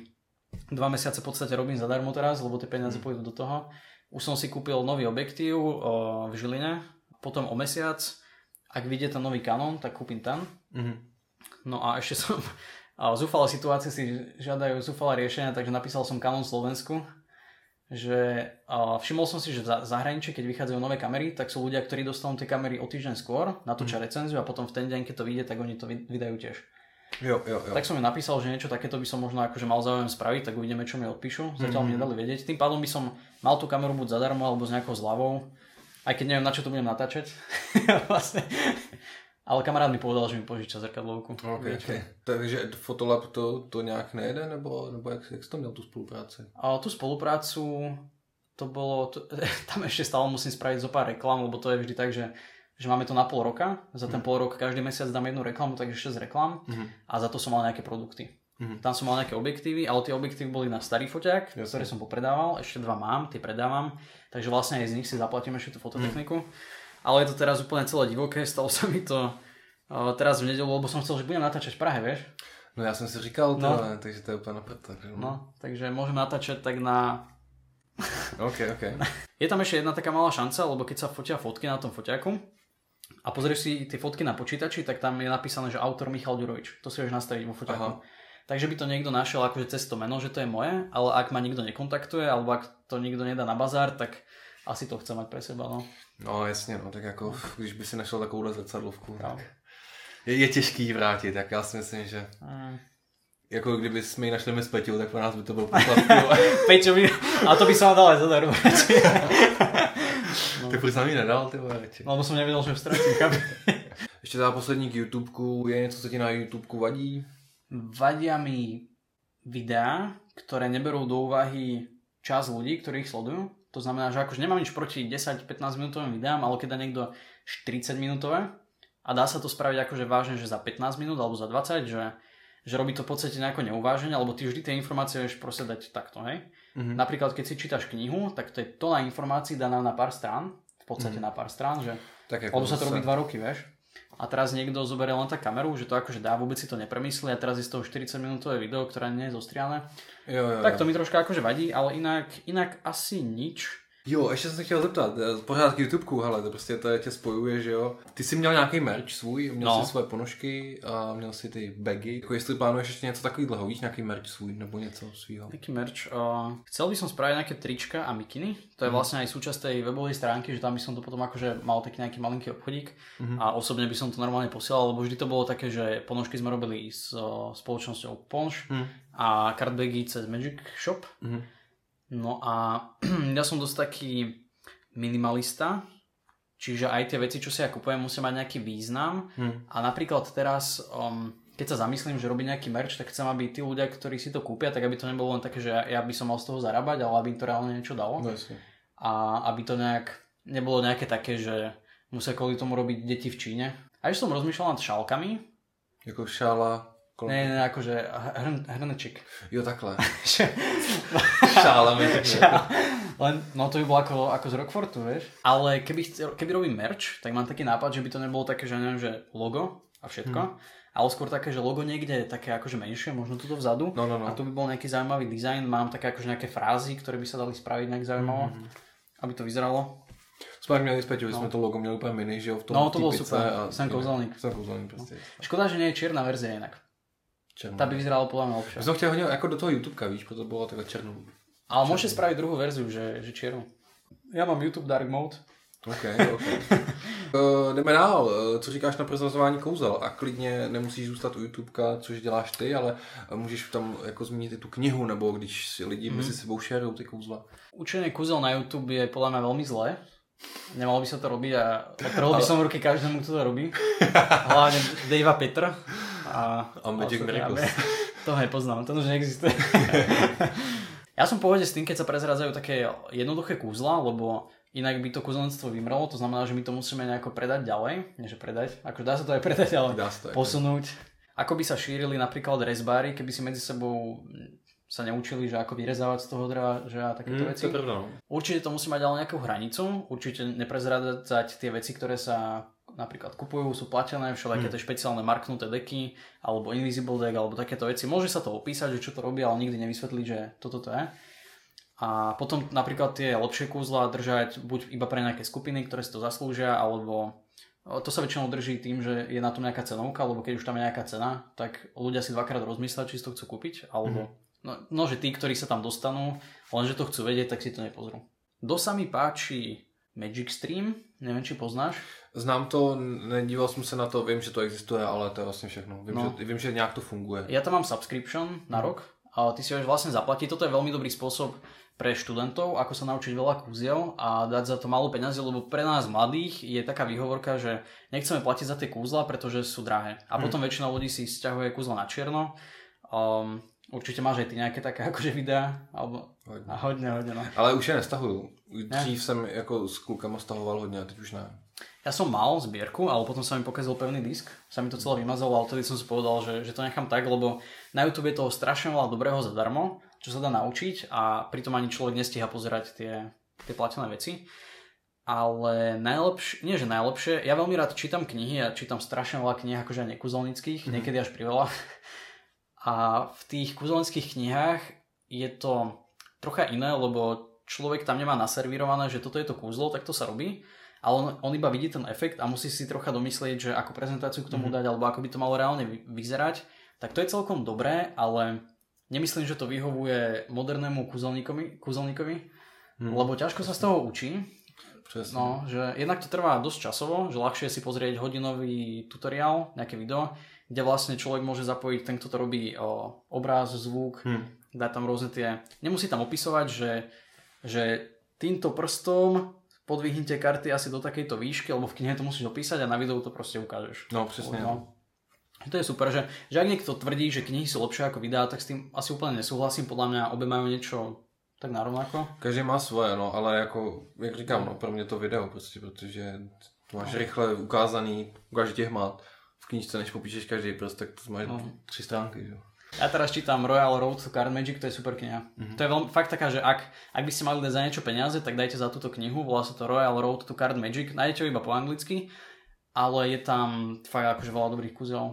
2 mesiace v podstate robím zadarmo teraz, lebo tie peniaze pôjdu do toho. Už som si kúpil nový objektív v Žiline, potom o mesiac, ak vyjde ten nový Canon, tak kúpim ten. No a ešte som zúfalé situácie si žiadajú zúfalé riešenia, takže napísal som Canon Slovensku, že všimol som si, že v zahraničí, keď vychádzajú nové kamery, tak sú ľudia, ktorí dostanú tie kamery o týždeň skôr, natočia recenziu a potom v ten deň, keď to vyjde, tak oni to vydajú tiež. Jo. Tak som mi napísal, že niečo takéto by som možno akože mal záujem spraviť, tak uvidíme, čo mi odpíšu. Zatiaľ mi nedali vedieť. Tým pádom by som mal tú kameru buď zadarmo alebo s nejakou zľavou, aj keď neviem, na čo to budem natáčať. Vlastne. Ale kamarát mi povedal, že mi požiča zrkadlovku. Okay. Takže Fotolab to nějak nejede, nebo jak jsi to měl tu spolupráci? Tú spoluprácu, to bolo, tam ešte stále musím spraviť zo pár reklám, lebo to je vždy tak, že máme to na pol roka, za ten pol rok každý mesiac dám jednu reklamu, takže 6 reklam a za to som mal nejaké produkty. Tam som mal nejaké objektívy, ale tie objektívy boli na starý foťák, ktoré som popredával, ešte 2 mám, tie predávam, takže vlastne aj z nich si zaplatím ešte tú fototechniku. Ale je to teraz úplne celé divoké, stalo sa mi to teraz v nedeľu, lebo som chcel, že budem natáčať v Prahe, vieš? No ja som si říkal, takže to je úplne naprto. No, takže môžem natáčať tak na... OK. Je tam ešte jedna taká malá šanca, lebo keď sa fotia fotky na tom foťáku a pozrieš si tie fotky na počítači, tak tam je napísané, že autor Michal Ďurovič. To si vieš nastaviť vo foťáku. Takže by to niekto našiel akože cez to meno, že to je moje, ale ak ma nikto nekontaktuje, alebo ak to nikto nedá na bazár, tak asi to chce mať pre seba, no. No jasně, no, tak jako, když by si našel takovou zrcadlovku, tak je těžký ji vrátit, tak já si myslím, že jako kdyby jsme ji našli my s Peťou, tak pro nás by to bylo poplatky. Peťo by, a to by som vám dal aj zadarmo. No. Tak proč jsem ji nedal, ty vole, radši. No, lebo som nevedel, že vstratím, chápem. Ještě teda poslední k YouTubeku, je něco, co ti na YouTubeku vadí? Vadia mi videá, ktoré neberú do úvahy čas ľudí, ktorí ich sledujú. To znamená, že akože nemám nič proti 10-15 minútovým videám, ale keď dá niekto 40 minútové a dá sa to spraviť akože vážne, že za 15 minút alebo za 20, že robí to v podstate nejako neuváženie, alebo ty vždy tie informácie vieš proste dať takto, hej. Napríklad keď si čítaš knihu, tak to je tona informácií daná na pár strán, v podstate na pár strán, že tak lebo sa to robí 2 roky, vieš. A teraz niekto zoberie len tak kameru, že to akože dá, vôbec si to nepremyslí a teraz je z toho 40 minútové video, ktoré nie je zostriané. Jo. Tak to mi troška akože vadí, ale inak asi nič. Jo, ještě jsem se chtěl zeptat, pořád k YouTubeku, hele, to prostě to tě spojuje, že jo. Ty jsi měl nějaký merch svůj, měl jsi svoje ponožky a měl si ty bagy. Jako jestli plánuješ ještě něco takového, víš, nějaký merch svůj nebo něco svýho? Jaký merch? Chcel by som spraviť nejaké trička a mikiny. To je vlastne aj súčasť tej webovej stránky, že tam by som to potom akože mal taký nejaký malinký obchodík a osobne by som to normálne posielal, lebo vždy to bolo také, že ponožky sme robili s spoločnosťou Ponš a cardbagy cez Magic Shop. No a ja som dosť taký minimalista, čiže aj tie veci, čo si ja kupujem, musia mať nejaký význam a napríklad teraz, keď sa zamyslím, že robím nejaký merch, tak chcem, aby tí ľudia, ktorí si to kúpia, tak aby to nebolo len také, že ja by som mal z toho zarábať, ale aby im to reálne niečo dalo. A aby to nejak nebolo nejaké také, že musia kvôli tomu robiť deti v Číne. A ešte som rozmýšľal nad šálkami. Jako šála... Ne, akože hrneček. Jo, takhle. Šálami. No to by bolo ako z Rockfortu, vieš. Ale keby robím merch, tak mám taký nápad, že by to nebolo také, že neviem, že logo a všetko. Ale skôr také, že logo niekde je také akože menšie, možno tuto vzadu. No. A tu by bol nejaký zaujímavý dizajn. Mám také akože nejaké frázy, ktoré by sa dali spraviť nejak zaujímavo, aby to vyzeralo. Jsme měli zpět, že jsme to logo měli úplně mini, že jo, v tom. No to bolo super, Sam Kouzelník. Prostě. Škoda, že nie je čierna verzia inak. Tá by vyzerala podľa mňa lepšie. Som chtěl hodně jako do toho YouTubeka, víš, proto bylo takhle černou. Ale môžete spraviť druhú verziu, že čiernu. Ja mám YouTube Dark Mode. OK. Jdeme dál. Co říkáš na prezrazování kouzel? A klidně nemusíš zůstat u YouTubeka, což děláš ty, ale můžeš tam jako zmínit i tu knihu, nebo když si lidi mezi sebou šerujou ty kouzla. Učenie kúzel na YouTube je podľa mňa veľmi zlé. Nemalo by sa to robiť a trhol by som ruky každému, kto to robí. Hlavne Davea Petra. A Magic Miracles. To nepoznám, to už neexistuje. Ja som v pohode s tým, keď sa prezrádzajú také jednoduché kúzla, lebo inak by to kúzelníctvo vymrelo, to znamená, že my to musíme nejako predať ďalej. Nie, že predať, ako dá sa to aj predať, ale posunúť. Ako by sa šírili napríklad rezbári, keby si medzi sebou sa neučili, že ako vyrezávať z toho dreva, že a takéto veci. To Určite to musí mať ale nejakú hranicu, určite neprezrádzať tie veci, ktoré sa napríklad kupujú, sú platené, všelijaké tie špeciálne marknuté deky, alebo invisible deck, alebo takéto veci. Môže sa to opísať, že čo to robí, ale nikdy nevysvetliť, že toto to je. A potom napríklad tie lepšie kúzla držať buď iba pre nejaké skupiny, ktoré si to zaslúžia, alebo to sa väčšinou drží tým, že je na tom nejaká cenovka, alebo keď už tam je nejaká cena, tak ľudia si dvakrát rozmyslia, či si to chcú kúpiť, alebo no, že tí, ktorí sa tam dostanú, lenže to chcú vedieť, tak si to nepozrú. Sa mi páči Magic Stream, neviem, či poznáš. Znám to, nedíval jsem se na to, vím, že to existuje, ale to je vlastně všechno. Vím, že nějak to funguje. Ja tam mám subscription na rok, a ty si ho vlastne zaplatiť. Toto je veľmi dobrý spôsob pre študentov, ako sa naučiť veľa kúziel a dať za to málo peňazí, lebo pre nás mladých je taká výhovorka, že nechceme platiť za tie kúzla, pretože sú drahé. A potom väčšina ľudí si sťahuje kúzla na čierno. Určite máš aj ty nejaké také akože videá, alebo hodne, no. Ale už je nestahuju. Dřív jsem jako s klukama stahoval hodně, a teď už ne. Ja som mal zbierku, ale potom sa mi pokazil pevný disk, sa mi to celé vymazalo, ale vtedy som si povedal, že to nechám tak, lebo na YouTube je toho strašne veľa dobrého zadarmo, čo sa dá naučiť a pritom ani človek nestíha pozerať tie platené veci. Ale najlepšie, ja veľmi rád čítam knihy a čítam strašne veľa kníh, akože aj nekúzelnických, niekedy až priveľa. A v tých kúzelnických knihách je to trocha iné, lebo človek tam nemá naservírované, že toto je to kúzlo, tak to sa robí. Ale on iba vidí ten efekt a musí si trocha domyslieť, že ako prezentáciu k tomu dať, alebo ako by to malo reálne vyzerať. Tak to je celkom dobré, ale nemyslím, že to vyhovuje modernému kúzelníkovi, lebo ťažko sa z toho učí. Presne. No, že jednak to trvá dosť časovo, že ľahšie si pozrieť hodinový tutoriál, nejaké video, kde vlastne človek môže zapojiť ten, kto to robí, obraz, zvuk, dá tam rôzne tie... Nemusí tam opisovať, že týmto prstom podvihnite karty asi do takejto výšky, alebo v knihe to musíš opísať a na videu to proste ukážeš. No, přesně. No. To je super, že ak niekto tvrdí, že knihy sú lepšie ako videá, tak s tým asi úplne nesúhlasím. Podľa mňa obe majú niečo tak narovnako. Každý má svoje, no, ale jako, jak říkám, no, pro mě to video prostě, protože to máš rychle ukázaný, ukáže tě hmat. V knížce, než popíšeš každý prst, tak to máš 3 stránky, jo. Ja teraz čítam Royal Road to Card Magic, to je super kniha. To je fakt taká, že ak by ste mali dať za niečo peniaze, tak dajte za túto knihu, volá sa to Royal Road to Card Magic, nájdete ho iba po anglicky, ale je tam fakt akože veľa dobrých kúzel.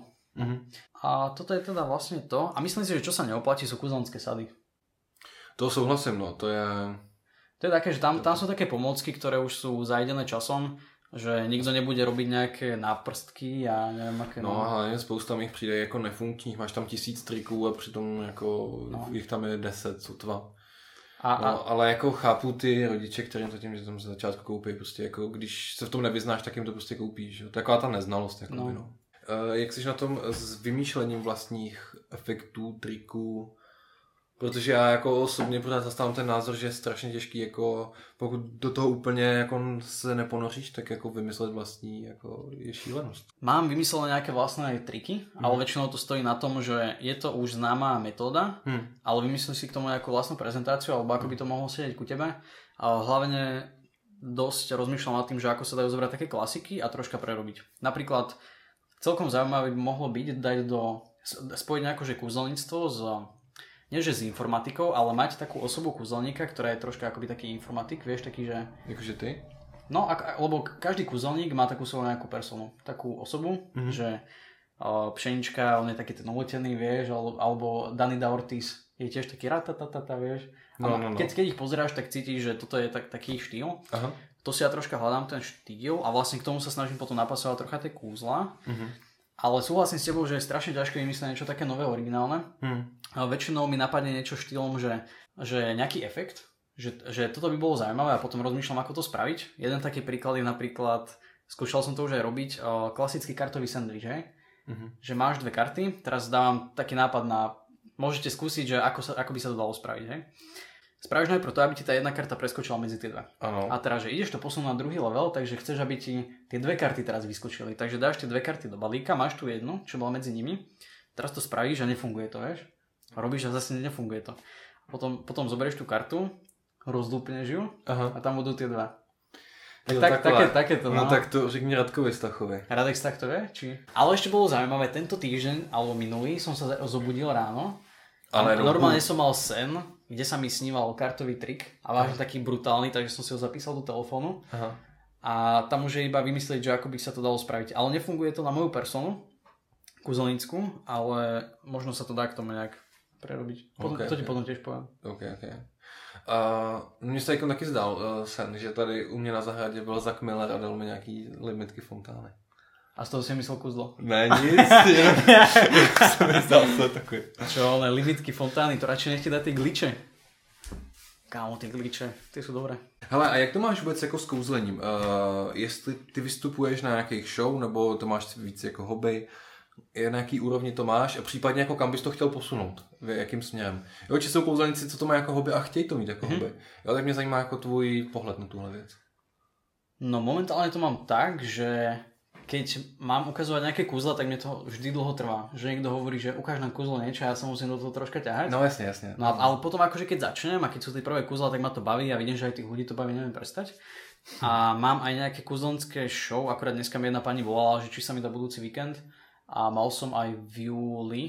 A toto je teda vlastne to. A myslím si, že čo sa neoplatí, sú kúzelnické sady. To souhlasím, no, to je... To je také, že tam sú také pomôcky, ktoré už sú zajdené časom, že nikdo nebude robiť nejaké náprstky a neviem aké. No a hlavně spousta mých přijde jako nefunkčních, máš tam 1000 triků a přitom jako jich tam je 10, sotva. Ale jako chápu ty rodiče, kterým to tím, že tam ze začátku koupí, prostě jako když se v tom nevyznáš, tak jim to prostě koupíš. Jo? Taková ta neznalost. Jako no. Jak jsi na tom s vymýšlením vlastních efektů, triků? Protože já jako osobně pořád zastávám ten názor, že je strašně těžký, jako pokud do toho úplně jako se neponoříš, tak jako vymyslet vlastní jako je šílenost. Mám vymyslené nejaké vlastné triky, ale väčšinou to stojí na tom, že je to už známá metóda, ale vymyslíš si k tomu nejakú vlastnú prezentáciu, alebo ako by to mohlo sedieť ku tebe. A hlavne dosť rozmýšľam nad tým, že ako sa dajú zobrať také klasiky a troška prerobiť. Napríklad celkom zaujímavé by mohlo byť spojiť nejako, že kúzelníctvo nie že s informatikou, ale mať takú osobu kúzelníka, ktorá je troška akoby taký informatik, vieš, taký, že... Jakože ty? No, lebo každý kúzelník má takú svoju nejakú personu, takú osobu, že Pšenička, on je taký ten uletený, vieš, alebo Dani da Ortiz je tiež taký ratatatata, vieš. No. Keď ich pozeráš, tak cítiš, že toto je taký štýl. Aha. To si ja troška hľadám, ten štýl, a vlastne k tomu sa snažím potom napasovať trocha tie kúzla. Ale súhlasím s tebou, že je strašne ťažké vymyslieť niečo také nové, originálne. Väčšinou mi napadne niečo štýlom, že nejaký efekt, že toto by bolo zaujímavé a potom rozmýšľam, ako to spraviť. Jeden taký príklad je napríklad, skúšal som to už aj robiť, klasický kartový sandwich, hej? Že máš 2 karty, teraz dávam taký nápad môžete skúsiť, že ako by sa to dalo spraviť, hej? Spravíš najprv to, aby ti tá jedna karta preskočila medzi tie dve. Ano. A teraz, že ideš to posunúť na druhý level, takže chceš, aby ti tie 2 karty teraz vyskočili. Takže dáš tie 2 karty do balíka, máš tu jednu, čo bola medzi nimi. Teraz to spravíš a nefunguje to, vieš? Robíš a zase nefunguje to. Potom zoberieš tú kartu, rozdúpneš ju a tam budú tie 2. Takéto. No tak to řekni Radkovi Stachovi. Radek Stachtovie? Ale ešte bolo zaujímavé, tento týždeň, alebo minulý, som sa zobudil ráno. Ale normálne som mal sen, kde sa mi sníval kartový trik a vážne taký brutálny, takže som si ho zapísal do telefónu. a tam už je iba vymyslieť, že ako by sa to dalo spraviť. Ale nefunguje to na moju personu, kúzelnícku, ale možno sa to dá k tomu nejak prerobiť. To ti potom tiež poviem. OK. Mně se taky zdál sen, že tady u mě na zahradě byl Zach Miller a dal mi nějaký limitky fontány. A z toho si myslel kúzlo? Ne, nic, jsem mi zdal se takový. Čo, ale limitky fontány, to radšej nech ti dá ty gliče. Kámo, ty gliče, ty jsou dobré. Hele, a jak to máš vůbec jako s kouzlením? Jestli ty vystupuješ na nějakých show, nebo to máš víc jako hobby? Na jaký úrovni to máš a případně jako kam bys to chtěl posunout, jakým směrem. Jo, či jsou kouzelníci, co to mají jako hobby a chtějí to mít jako hobby. Jo, tak mě zajímá jako tvůj pohled na tuhle věc. No momentálne to mám tak, že keď mám ukazovať nejaké kúzla, tak mne to vždy dlho trvá. Že niekto hovorí, že ukáž nám kúzlo niečo a ja sa musím do toho troška ťahať. No jasne. No ale potom akože keď začnem a keď sú tie prvé kúzla, tak ma to baví a vidím, že aj tých ľudí to baví, neviem prestať. A mám aj nejaké kúzelnické show, akorát dneska mi jedna pani volala, že či sa mi dá budúci víkend. A mal som aj v júli,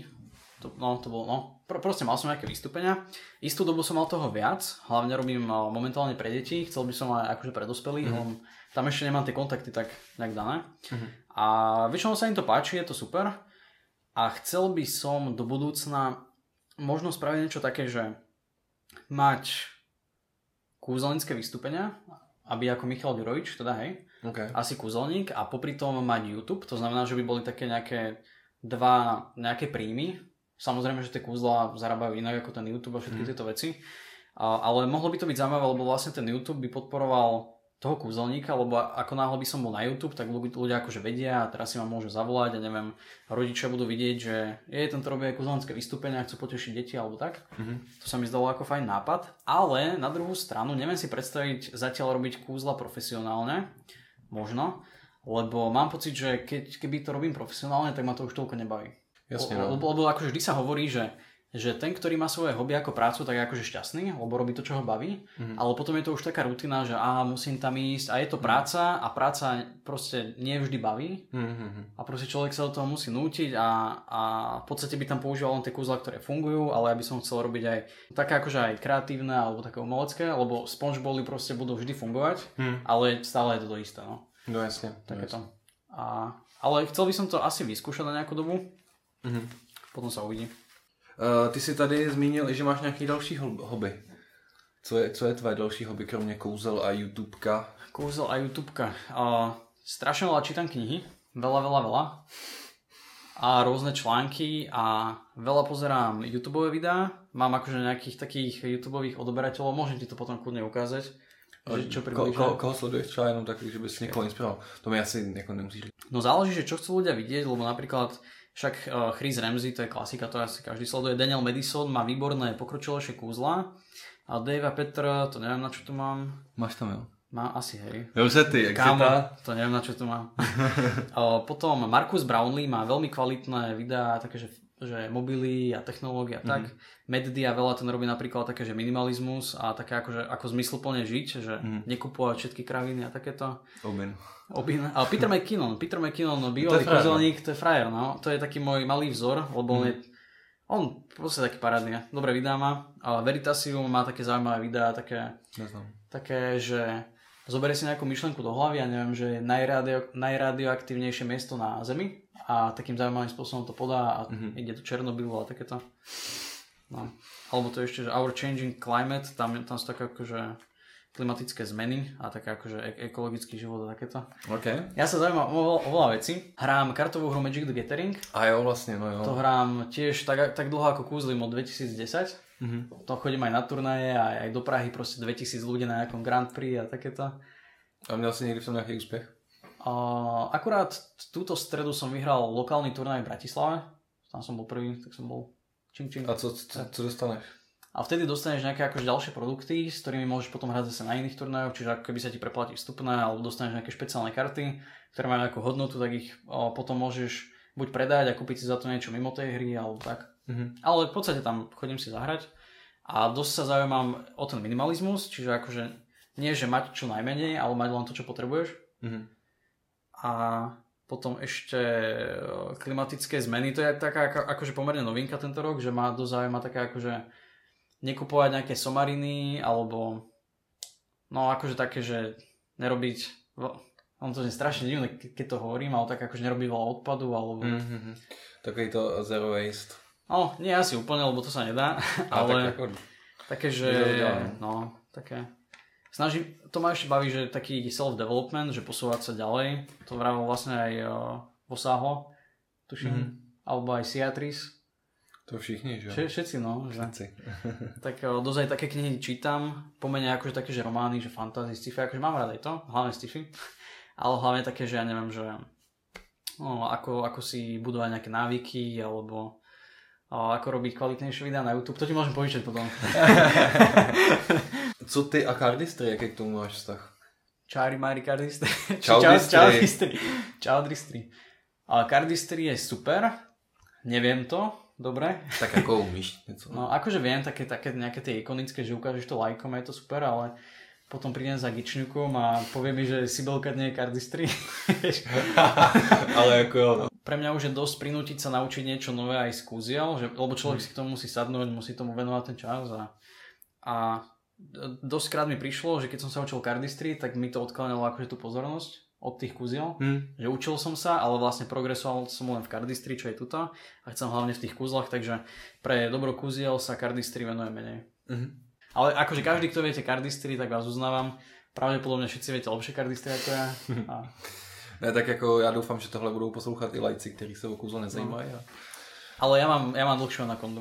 proste mal som nejaké vystúpenia. Istú dobu som mal toho viac, hlavne robím momentálne pre deti, chcel by som aj akože pre dospelých, tam ešte nemám tie kontakty tak nejak dané. A väčšinou sa im to páči, je to super. A chcel by som do budúcna možno spraviť niečo také, že mať kúzelnícke vystúpenia, aby ako Michal Virovič, teda hej, asi kúzelník a popri tom mať YouTube, to znamená, že by boli také nejaké príjmy. Samozrejme, že tie kúzla zarábajú inak ako ten YouTube a všetky tieto veci, ale mohlo by to byť zaujímavé, lebo vlastne ten YouTube by podporoval toho kúzelníka, lebo ako náhle by som bol na YouTube, tak ľudia akože vedia a teraz si ma môžu zavolať a neviem, rodičia budú vidieť, že tento robí aj kúzelnícke vystúpenia a chcú potešiť deti alebo tak. To sa mi zdalo ako fajn nápad, ale na druhú stranu neviem si predstaviť zatiaľ robiť kúzla profesionálne, možno, lebo mám pocit, že keby to robím profesionálne, tak ma to už toľko nebaví. Jasne, lebo akože vždy sa hovorí, že ten, ktorý má svoje hobby ako prácu, tak je akože šťastný, lebo robí to, čo ho baví, ale potom je to už taká rutina, že musím tam ísť a je to práca a práca proste nie vždy baví a proste človek sa do toho musí nútiť a v podstate by tam používal len tie kúzla, ktoré fungujú, ale ja by som chcel robiť aj také akože aj kreatívne alebo také umelecké, lebo SpongeBoby proste budú vždy fungovať, ale stále je to isté, no. No jasne. Takéto. Ale chcel by som to asi vyskúšať na nejakú dobu, potom sa uvidí. Ty si tady zmínil, že máš nějaký další hobby. Co je tvoje další hobby, kromě kouzel a YouTubeka? Kouzel a YouTubeka. Strašne veľa čítam knihy. Veľa. A rôzne články a veľa pozerám YouTubeové videá. Mám akože nejakých takých YouTubeových odoberateľov. Môžem ti to potom kľudne ukázať. Koho sleduješ třeba jenom tak, že bys někoho inspiroval? To mi asi jako nemusíš. No záleží, že čo chcú ľudia vidieť, lebo napríklad však Chris Ramsey, to je klasika, to asi každý sleduje. Daniel Madison má výborné pokročilejšie kúzla. A Dave a Petr, to neviem, na čo tu mám. Máš tam, jo? Má asi, hej. Jo, se ty, jak Kámo, to neviem, na čo tu mám. Potom Marcus Brownlee má veľmi kvalitné videá, také, že mobily a technológie a tak. Meddia veľa ten robí napríklad také, že minimalizmus a také ako zmysluplne žiť, že nekupovať všetky kraviny a takéto. Obin. Ale Peter McKinnon, bývalý kúzelník, to je frajer, no. To je taký môj malý vzor, lebo on proste taký parádny. Dobré videá má. A Veritasium má také zaujímavé videá, také, že zoberie si nejakú myšlenku do hlavy a neviem, že je najradioaktívnejšie miesto na Zemi a takým zaujímavým spôsobom to podá a ide do Černobylu a takéto. No. Alebo to ešte, že Our Changing Climate, tam sú také akože klimatické zmeny a také akože ekologický život a takéto. Okay. Ja sa zaujímam o veľa vecí. Hrám kartovú hru Magic the Gathering. A jo, vlastne, no jo. To hrám tiež tak dlho ako kúzlim od 2010. To chodím aj na turnaje aj do Prahy, proste 2000 ľudí na nejakom Grand Prix a takéto. A měl si niekdy v tom nejaký úspech? Akurát túto stredu som vyhral lokálny turnaj v Bratislave. Tam som bol prvý, tak som bol čing. A co dostaneš? A vtedy dostaneš nejaké akože ďalšie produkty, s ktorými môžeš potom hrať zase na iných turnajoch, čiže ako keby sa ti preplatí vstupné, alebo dostaneš nejaké špeciálne karty, ktoré majú nejakú hodnotu, tak ich potom môžeš buď predať a kúpiť si za to niečo mimo tej hry, alebo tak. Ale v podstate tam chodím si zahrať a dosť sa zaujímam o ten minimalizmus, čiže akože nie, že mať čo najmenej, ale mať len to, čo potrebuješ. A potom ešte klimatické zmeny, to je taká akože pomerne novinka tento rok, že ma dosť zaujíma taká akože nekupovať nejaké somariny, alebo no akože také, že nerobiť On to je strašne divné, keď to hovorím, ale tak akože nerobí veľa odpadu, alebo... Takový to zero waste. No, nie asi úplne, lebo to sa nedá, ale... Také, že... No, také... To ma ešte baví, že taký self-development, že posúvať sa ďalej. To vravil vlastne aj Vosáho, tuším, alebo aj Siatris. To všichni, že? Všetci, no. Všetci. Tak dosť aj také knihy čítam, pomene akože také, že romány, že fantasy, sci-fi, akože mám rád aj to, hlavne sci-fi. Ale hlavne také, že ja neviem, že ako si budovať nejaké návyky, alebo ako robiť kvalitnejšie videá na YouTube. To ti môžem povíčať potom. Co ty a Cardistry, jaký k tomu máš vztah? Čári Mári Cardistry. Čaudistry. Ale Cardistry je super. Neviem to. Dobre. Tak ako umíš něco. No akože viem také nejaké tie ikonické, že ukážeš to lajkom, je to super, ale potom prídem za Gičňukom a povie mi, že Sibelka nie je Cardistry. Ale ako jo. Pre mňa už je dosť prinútiť sa naučiť niečo nové aj z kúziel, lebo človek si k tomu musí sadnúť, musí tomu venovať ten čas a dosť krát mi prišlo, že keď som sa učil Cardistry, tak mi to odkláňalo akože tú pozornosť od tých kúziel, že učil som sa, ale vlastne progresoval som len v Cardistry, čo je tuto a chcem hlavne v tých kúzlach, takže pre dobro kúziel sa Cardistry venuje menej. Ale akože každý, kto viete Cardistry, tak vás uznávam. Pravdepodobne všetci viete lepšie Cardistry ako ja. Ne, tak jako já doufám, že tohle budou poslouchat i lajci, kteří se o kúzlo nezajímají. No. Ale ja mám dlhšiu anakondu.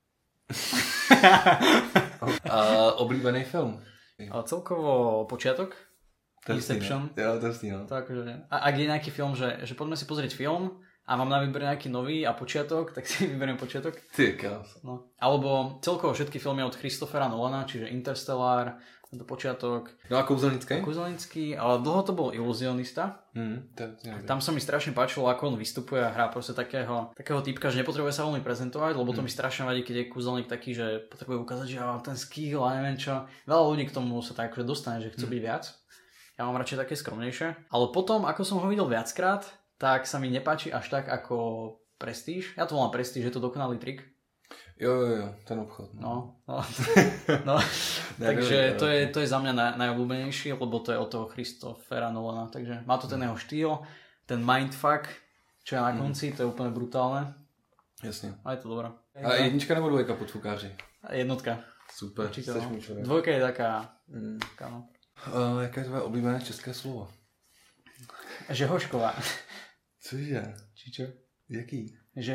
Oblíbený film? Celkovo Počiatok. Inception. Jo, to je no. To akože, ak je nejaký film, že poďme si pozrieť film a mám na výber nejaký nový a Počiatok, tak si vyberiem Počiatok. Ty krás. No. Alebo celkovo všetky filmy od Christophera Nolana, čiže Interstellar, tento Počiatok. No a Kouzelnický? Kouzelnický, ale dlho to bol Iluzionista. Tam sa mi strašne páčilo, ako on vystupuje a hrá proste takého typka, že nepotrebuje sa veľmi prezentovať, lebo to mi strašne vadí, keď je kúzelník taký, že potrebuje ukázať, že ja mám ten skill a neviem čo. Veľa ľudí k tomu sa tak akože dostane, že chcú byť viac. Ja mám radšej také skromnejšie. Ale potom, ako som ho videl viackrát, tak sa mi nepáči až tak ako Prestige. Ja to volám Prestige, že je to dokonalý trik. Jo, ten obchod. No. Takže to je za mňa najobľúbenejší, lebo to je od toho Christophera Nolana. Takže má to ten jeho štýl, ten mindfuck, čo je na konci, to je úplne brutálne. Jasne. A je to dobré. A jednička nebo dvojka Podfukáři? Jednotka. Super, určite, chceš môj človek. Dvojka je taká, no. Jaké je tvoje oblíbené české slovo? Žehošková. Cože? Či čo? Jaký?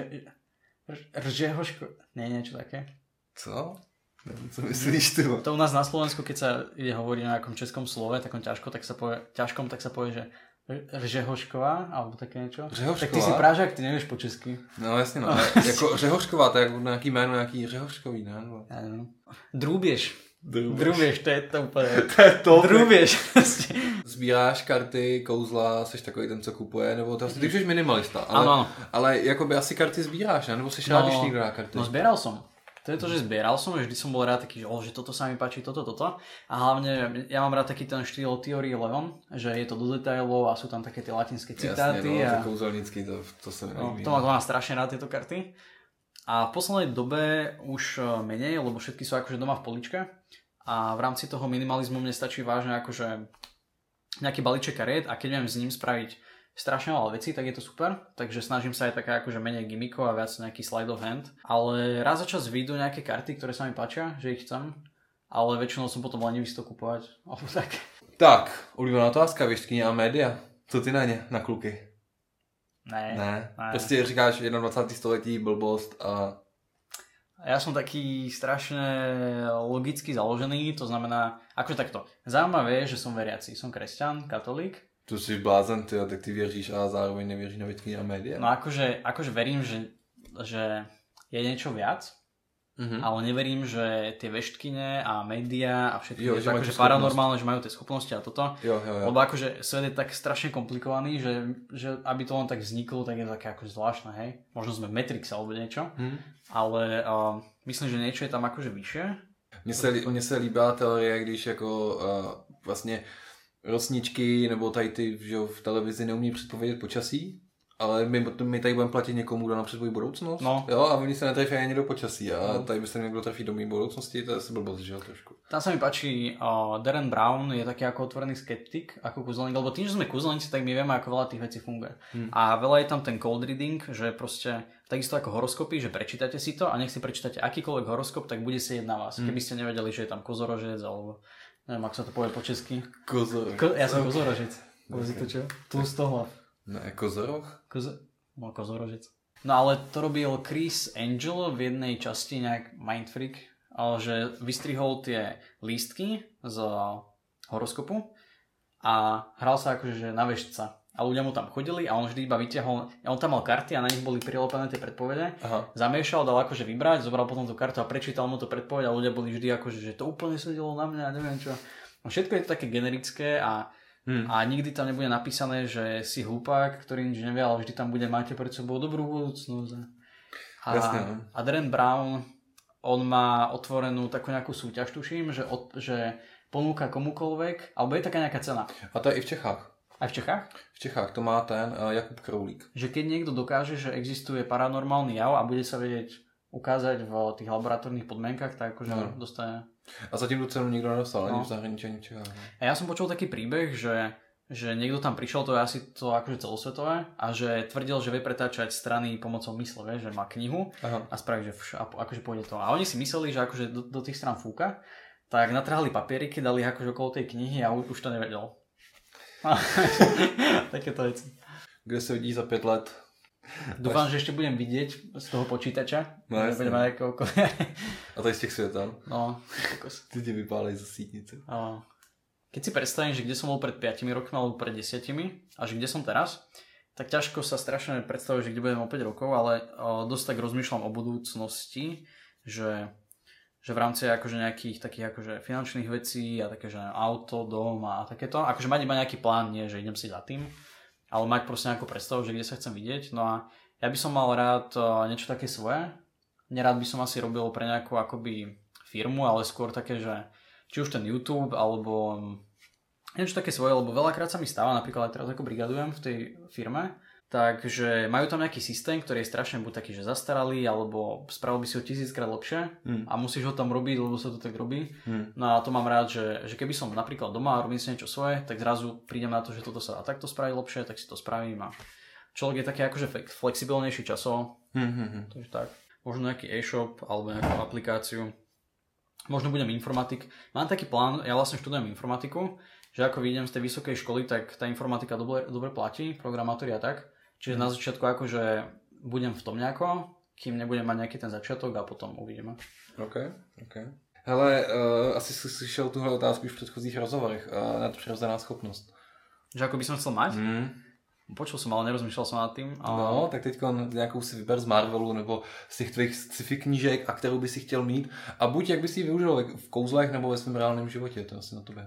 Ržehoško... Nie, niečo také. Co? Co myslíš ty? To u nás na Slovensku, keď sa ide hovoriť o nejakom českom slove, takom ťažkom, tak sa povie, že Řehošková, alebo také niečo. Řehošková? Tak ty si Pražák, ty nevieš po česky. No jasně, no. Jako Řehošková, to je jako nějaký jméno, nějaký Řehoškový, ne? Ja neviem. Drúbiež, to je to úplne... To je to. Drúbiež. Sbíráš karty, kouzla, jsi takový ten, co kupuje, nebo to ty už minimalista, ale, ale jakoby asi karty sbíráš, ne? Nebo jsi rád, když někdo dá karty? No zbieral som. To je to, že zbieral som, že vždy som bol rád taký, že toto sa mi páči, toto. A hlavne ja mám rád taký ten štýl Theory 11, že je to do detailov a sú tam také tie latinské citáty. Jasne, no, to kouzelnícky, to sa mi líbí. To mám strašne rád, tieto karty. A v poslednej dobe už menej, lebo všetky sú akože doma v poličke. A v rámci toho minimalizmu mne stačí vážne akože nejaký balíček kariet a keď viem s ním spraviť strašne veľa vecí, tak je to super. Takže snažím sa aj taká akože menej gimmikov a viac nejaký slide of hand. Ale raz za čas vyjdú nejaké karty, ktoré sa mi páčia, že ich chcem. Ale väčšinou som potom lenivý si to kupovať. Tak. Tak, oblíbená otázka, věštkyně a média. Co ty na ně, na kluky? Ne. Prostě říkáš 21. století, blbost a... Ja som taký strašne logicky založený, to znamená, akože takto. Zaujímavé je, že som veriaci, som kresťan, katolík. Tu jsi blázen, tak ty věříš a zároveň nevěříš na věštkyně a média? No akože verím, že je niečo viac, ale neverím, že tie veštkyne a média a všetky je akože paranormálne, že majú tie schopnosti a toto. Jo. Lebo akože svet je tak strašne komplikovaný, že aby to len tak vzniklo, tak je také akože zvláštne, hej. Možno sme v Matrixe alebo niečo, ale myslím, že niečo je tam akože vyššie. Mně se líbá teorie, když jako vlastně rosničky nebo tady ty, že v televizi neumí předpovědět počasí Ale my tady budeme platit někomu, kdo napřed svoji budoucnost? No. Jo, a oni se netrefí ani do počasí. A tady by se někdo trefí do mý budoucnosti, to je asi blbost, že jo, trošku. Tam sa mi páči, Darren Brown je taký ako otvorený skeptik, ako kúzelník, lebo tým, že sme kúzelníci, tak my vieme, ako veľa tých vecí funguje. A veľa je tam ten cold reading, že proste takisto ako horoskopy, že prečítate si to a nech si prečítate akýkoľvek horoskop, tak bude sedieť na vás. Keby ste nevedeli, že je tam kozorožec, alebo neviem, ako sa to povie po česky. Ja som kozorožec. Povedzí to čo? Tlustohlav. Ne, kozoroch? Kozorožec. No ale to robil Chris Angel v jednej časti, nejak Mindfreak, že vystrihol tie lístky z horoskopu a hral sa akože na vešca. A ľudia mu tam chodili a on vždy iba vytiahol, on tam mal karty a na nich boli prilepené tie predpovede. Zamiešal, dal akože vybrať, zobral potom tú kartu a prečítal mu to predpoveď a ľudia boli vždy akože, že to úplne sedelo na mňa, neviem čo. Všetko je to také generické a nikdy tam nebude napísané, že si hlupák, ktorý nič nevie, ale vždy tam bude, máte pred sebou dobrú budúcnosť. A Darren Brown, on má otvorenú takú nejakú súťaž, tuším, že ponúka komukoľvek, alebo je taká nejaká cena. A to je i v Čechách. Aj v Čechách? V Čechách to má ten Jakub Kroulík. Že keď niekto dokáže, že existuje paranormálny jav a bude sa vedieť ukázať v tých laboratórnych podmienkach, tak akože dostane. A zatím tu cenu nikto nedostal, ani v zahraničí, ani v Čechách. A ja som počul taký príbeh, že niekto tam prišiel, to je asi to akože celosvetové, a že tvrdil, že vie pretáčať strany pomocou mysle, že má knihu a spraví, že akože pôjde to. A oni si mysleli, že akože do tých strán fúka, tak natrhali papieriky, dali akože okolo tej knihy a už to nevedel. Takéto veci. Kde sa vidí za 5 let? Dúfam, že ešte budem vidieť z toho počítača. No jasne. A to je z těch světel? No. Ty ti vypálej za sítnice. Keď si predstavím, že kde som bol pred 5 rokmi alebo pred 10 a že kde som teraz, tak ťažko sa strašne predstaviť, že kde budem o 5 rokov, ale dosť tak rozmýšľam o budúcnosti, že v rámci akože nejakých takých akože finančných vecí a také, že auto, dom a takéto, akože mať iba nejaký plán, nie, že idem si za tým, ale mať proste nejakú predstavu, že kde sa chcem vidieť. No a ja by som mal rád niečo také svoje. Nerád by som asi robil pre nejakú akoby firmu, ale skôr také, že či už ten YouTube, alebo niečo také svoje, lebo veľakrát sa mi stáva, napríklad aj teraz ako brigadujem v tej firme, takže majú tam nejaký systém, ktorý je strašne buď taký, že zastaralý, alebo spravil by si ho 1000-krát lepšie a musíš ho tam robiť, lebo sa to tak robí. No a to mám rád, že keby som napríklad doma a robím si niečo svoje, tak zrazu prídem na to, že toto sa dá takto spraviť lepšie, tak si to spravím a človek je taký akože flexibilnejší časovo. Takže tak. Možno nejaký e-shop alebo nejakú aplikáciu. Možno budem informatik. Mám taký plán, ja vlastne študujem informatiku, že ako vyjdem z tej vysokej školy, tak tá informatika dobre platí, programátori a tak. Čiže na začiatku akože budem v tom nejako, kým nebudem mať nejaký ten začiatok a potom uvidíme. OK. Hele, asi si slyšel tuhle otázku už v předchozích rozhovorech. Nadpřirozená schopnost. Že ako by som chcel mať? Počul som, ale nerozmýšľal som nad tým. No, tak teďko nějakou si vyber z Marvelu nebo z těch tvých sci-fi knížek, a kterou by si chtěl mít. A buď jak by si ji využil v kouzlech nebo ve svém reálném životě, to asi na tobě.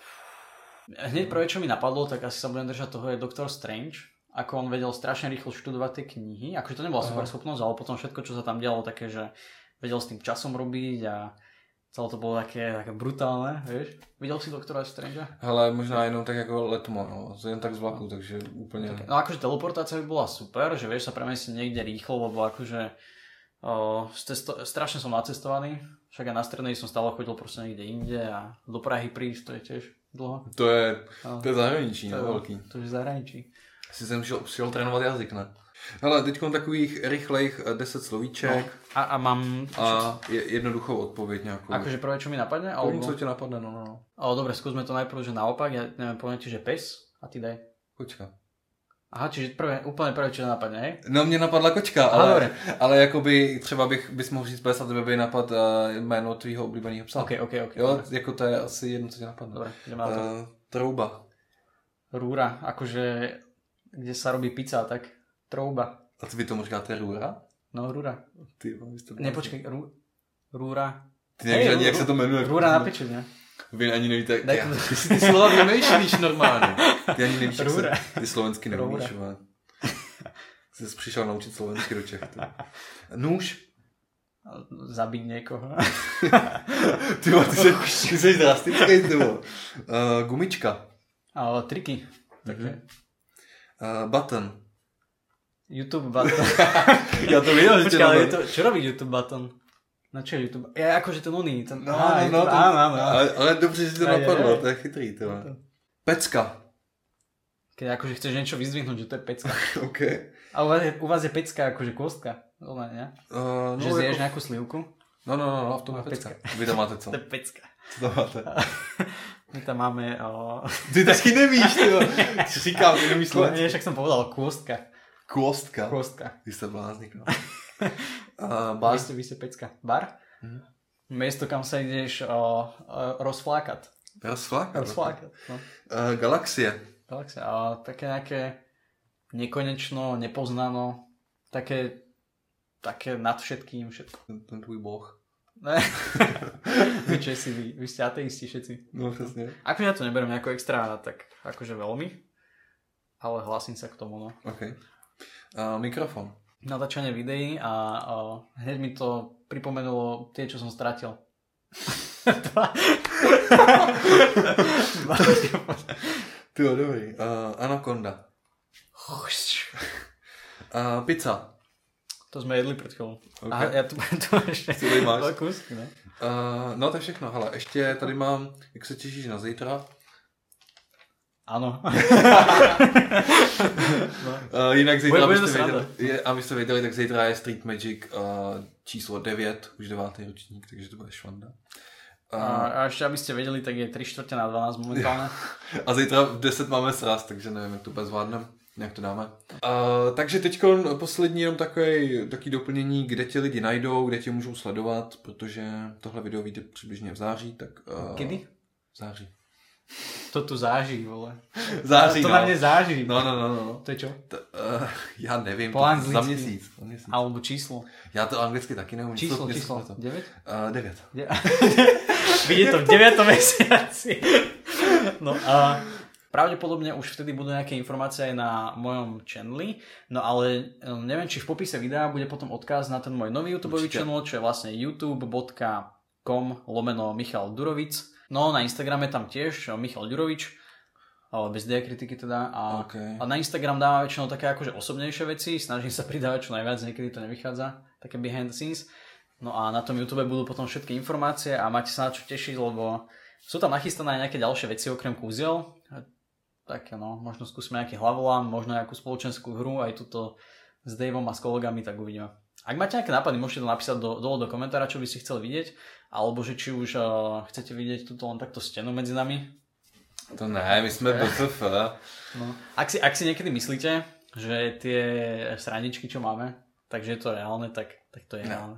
Hneď prvé, čo mi napadlo, tak asi sa budem držať toho, je Doctor Strange. Ako on vedel strašne rýchlo študovať tie knihy. Akože to nebola super schopnosť, ale potom všetko, čo sa tam dialo, také, že vedel s tým časom robiť a celé to bolo také brutálne, vieš. Videl si Doktora Strange? Hele, možná jenom tak jako letmo, no. Jen tak z vlaku, takže úplne... Okay. No akože teleportácia by bola super, že vieš sa premestiť niekde rýchlo, lebo akože strašne som nacestovaný. Však aj na strednej som stále chodil proste niekde inde a do Prahy prísť, to je tiež dlho. To je zahraničí, no, velký. To je zahraničí. Asi jsem šel trénovat jazyk, ne? Hele, teďkom takových rychlejch 10 slovíček. No, a mám... A jednoduchou odpověď nějakou. Akože prvé, čo mi napadne? Alebo... Co ti napadne, no. Dobre, skúsme to najprv, že naopak. Ja neviem, poviem ti, že pes a ty daj. Kočka. Aha, čiže úplne prvé, čo napadne, hej? No, mě napadla kočka, ale jakoby třeba bys mohl říct pes a tebe by napad jméno tvýho oblíbeného psa. OK. Jo, jako to je asi jedno, co ti napadne. Dobre, ideme na to. Trouba. Rúra, akože kde sa robí pizza, tak trouba. A ty tomu říkáte rúra? No, rúra. Nepočkej, rúra. Ty nevíš ani, jak se to jmenuje. Rúra na pečeň, ne? Vy ani nevíte, ty si ty slova vymýšlíš normálně. Ty ani nevíš, jak se ty slovensky neumíš. Jsi se přišel naučit slovensky do Čech. Nůž. Zabiť niekoho. Ty jsi drastický, ty vole. Gumička. Triky. Button. YouTube button. Já to viděl, že Počkaj, ale čo robí YouTube button? Na čo je YouTube? Je akože ten oný. Ten... No, áno. Ale dobře, že to napadlo, to je chytrý. To. Pecka. Keď akože chceš niečo vyzdvihnúť, že to je pecka. OK. A u vás je pecka akože kostka. Ne? No, že zješ nejakú slivku? No, v tom je pecka. Vy tam máte co? To je pecka. Co tam máte? My tam máme... Ty taky nevíš, tyjo. Co říkám, ty nevíš slovenský. Nie, však som povedal kostka. Kostka? Kostka. Vy ste bláznik, no. Bar? Vy ste pecka. Bar? Miesto, kam sa ideš rozflákať. Rozflákať? No. Galaxie. A také nejaké nekonečno, nepoznano, také nad všetkým všetko. Ten tvůj boh. Ne. Vy Česi, vy ste ateisti všetci. No přesně. Akože ja to neberiem nejako extra, tak akože veľmi, ale hlasím sa k tomu, no. OK. Mikrofon. Natáčanie videí a hneď mi to pripomenulo tie, čo som stratil. Tyjo, dobrý. Anakonda. Pizza. To sme jedli před chvíľou. Okay. Aha, ja tu ešte dva kusky, ne? No to je všechno, hele, ještě tady mám, jak se těšíš na zítra? Ano. Jinak zítra, abyste věděli, tak zítra je Street Magic číslo 9, už 9. ročník, takže to bude švanda. A ještě abyste věděli, tak je 3:45 momentálně. A zítra v 10 máme sraz, takže nevím, jak to bude zvládnem. Jak to dáme. Takže teď poslední jenom takový doplnění, kde tě lidi najdou, kde tě můžou sledovat, protože tohle video vyjde přibližně v září, tak... Kdy? V září. To tu září, vole. Září, to na mě září. No. To je čo? Já nevím, za měsíc. Alebo číslo. Já to anglicky taky neumím. Číslo. 9? 9. Vidíte to v 9. mesiaci. No a... Pravdepodobne už vtedy budú nejaké informácie aj na mojom channeli, no ale neviem, či v popise videa bude potom odkaz na ten môj nový YouTubeový channel, čo je vlastne youtube.com/Michal Durovic. No na Instagrame tam tiež Michal Durovič, bez diakritiky teda. A na Instagram dávam väčšinou také akože osobnejšie veci, snažím sa pridávať čo najviac, niekedy to nevychádza, také behind the scenes. No a na tom YouTube budú potom všetky informácie a máte sa na čo tešiť, lebo sú tam nachystané aj nejaké ďalšie veci okrem kúziel. Tak no, možno skúsime nejaký hlavolám, možno nejakú spoločenskú hru, aj tuto s Daveom a s kolegami, tak uvidíme. Ak máte nejaké nápady, môžete to napísať dole do komentára, čo by ste chceli vidieť, alebo že či už chcete vidieť tuto len takto stenu medzi nami. To ne, my sme BFF. No. Ak si niekedy myslíte, že tie srandičky, čo máme, takže je to reálne, tak to je reálne.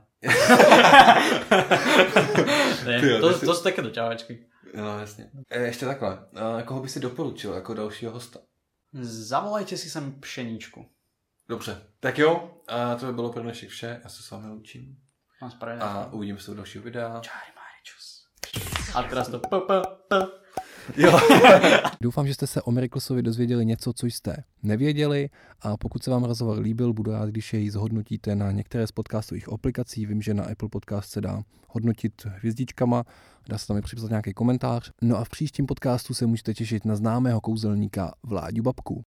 To sú také doťahovačky. No jasně. Ještě takhle. Koho by si doporučil jako dalšího hosta? Zavolajte si sem Pšeníčku. Dobře. Tak jo, to by bylo pro dnešek vše. Já se s vámi loučím. A uvidíme se u dalšího videa. Čáry Maričus. A teraz to Jo. Doufám, že jste se o Miraclesovi dozvěděli něco, co jste nevěděli, a pokud se vám rozhovor líbil, budu rád, když jej zhodnotíte na některé z podcastových aplikací. Vím, že na Apple Podcast se dá hodnotit hvězdičkama, dá se tam i připsat nějaký komentář. No a v příštím podcastu se můžete těšit na známého kouzelníka Vláďu Babku.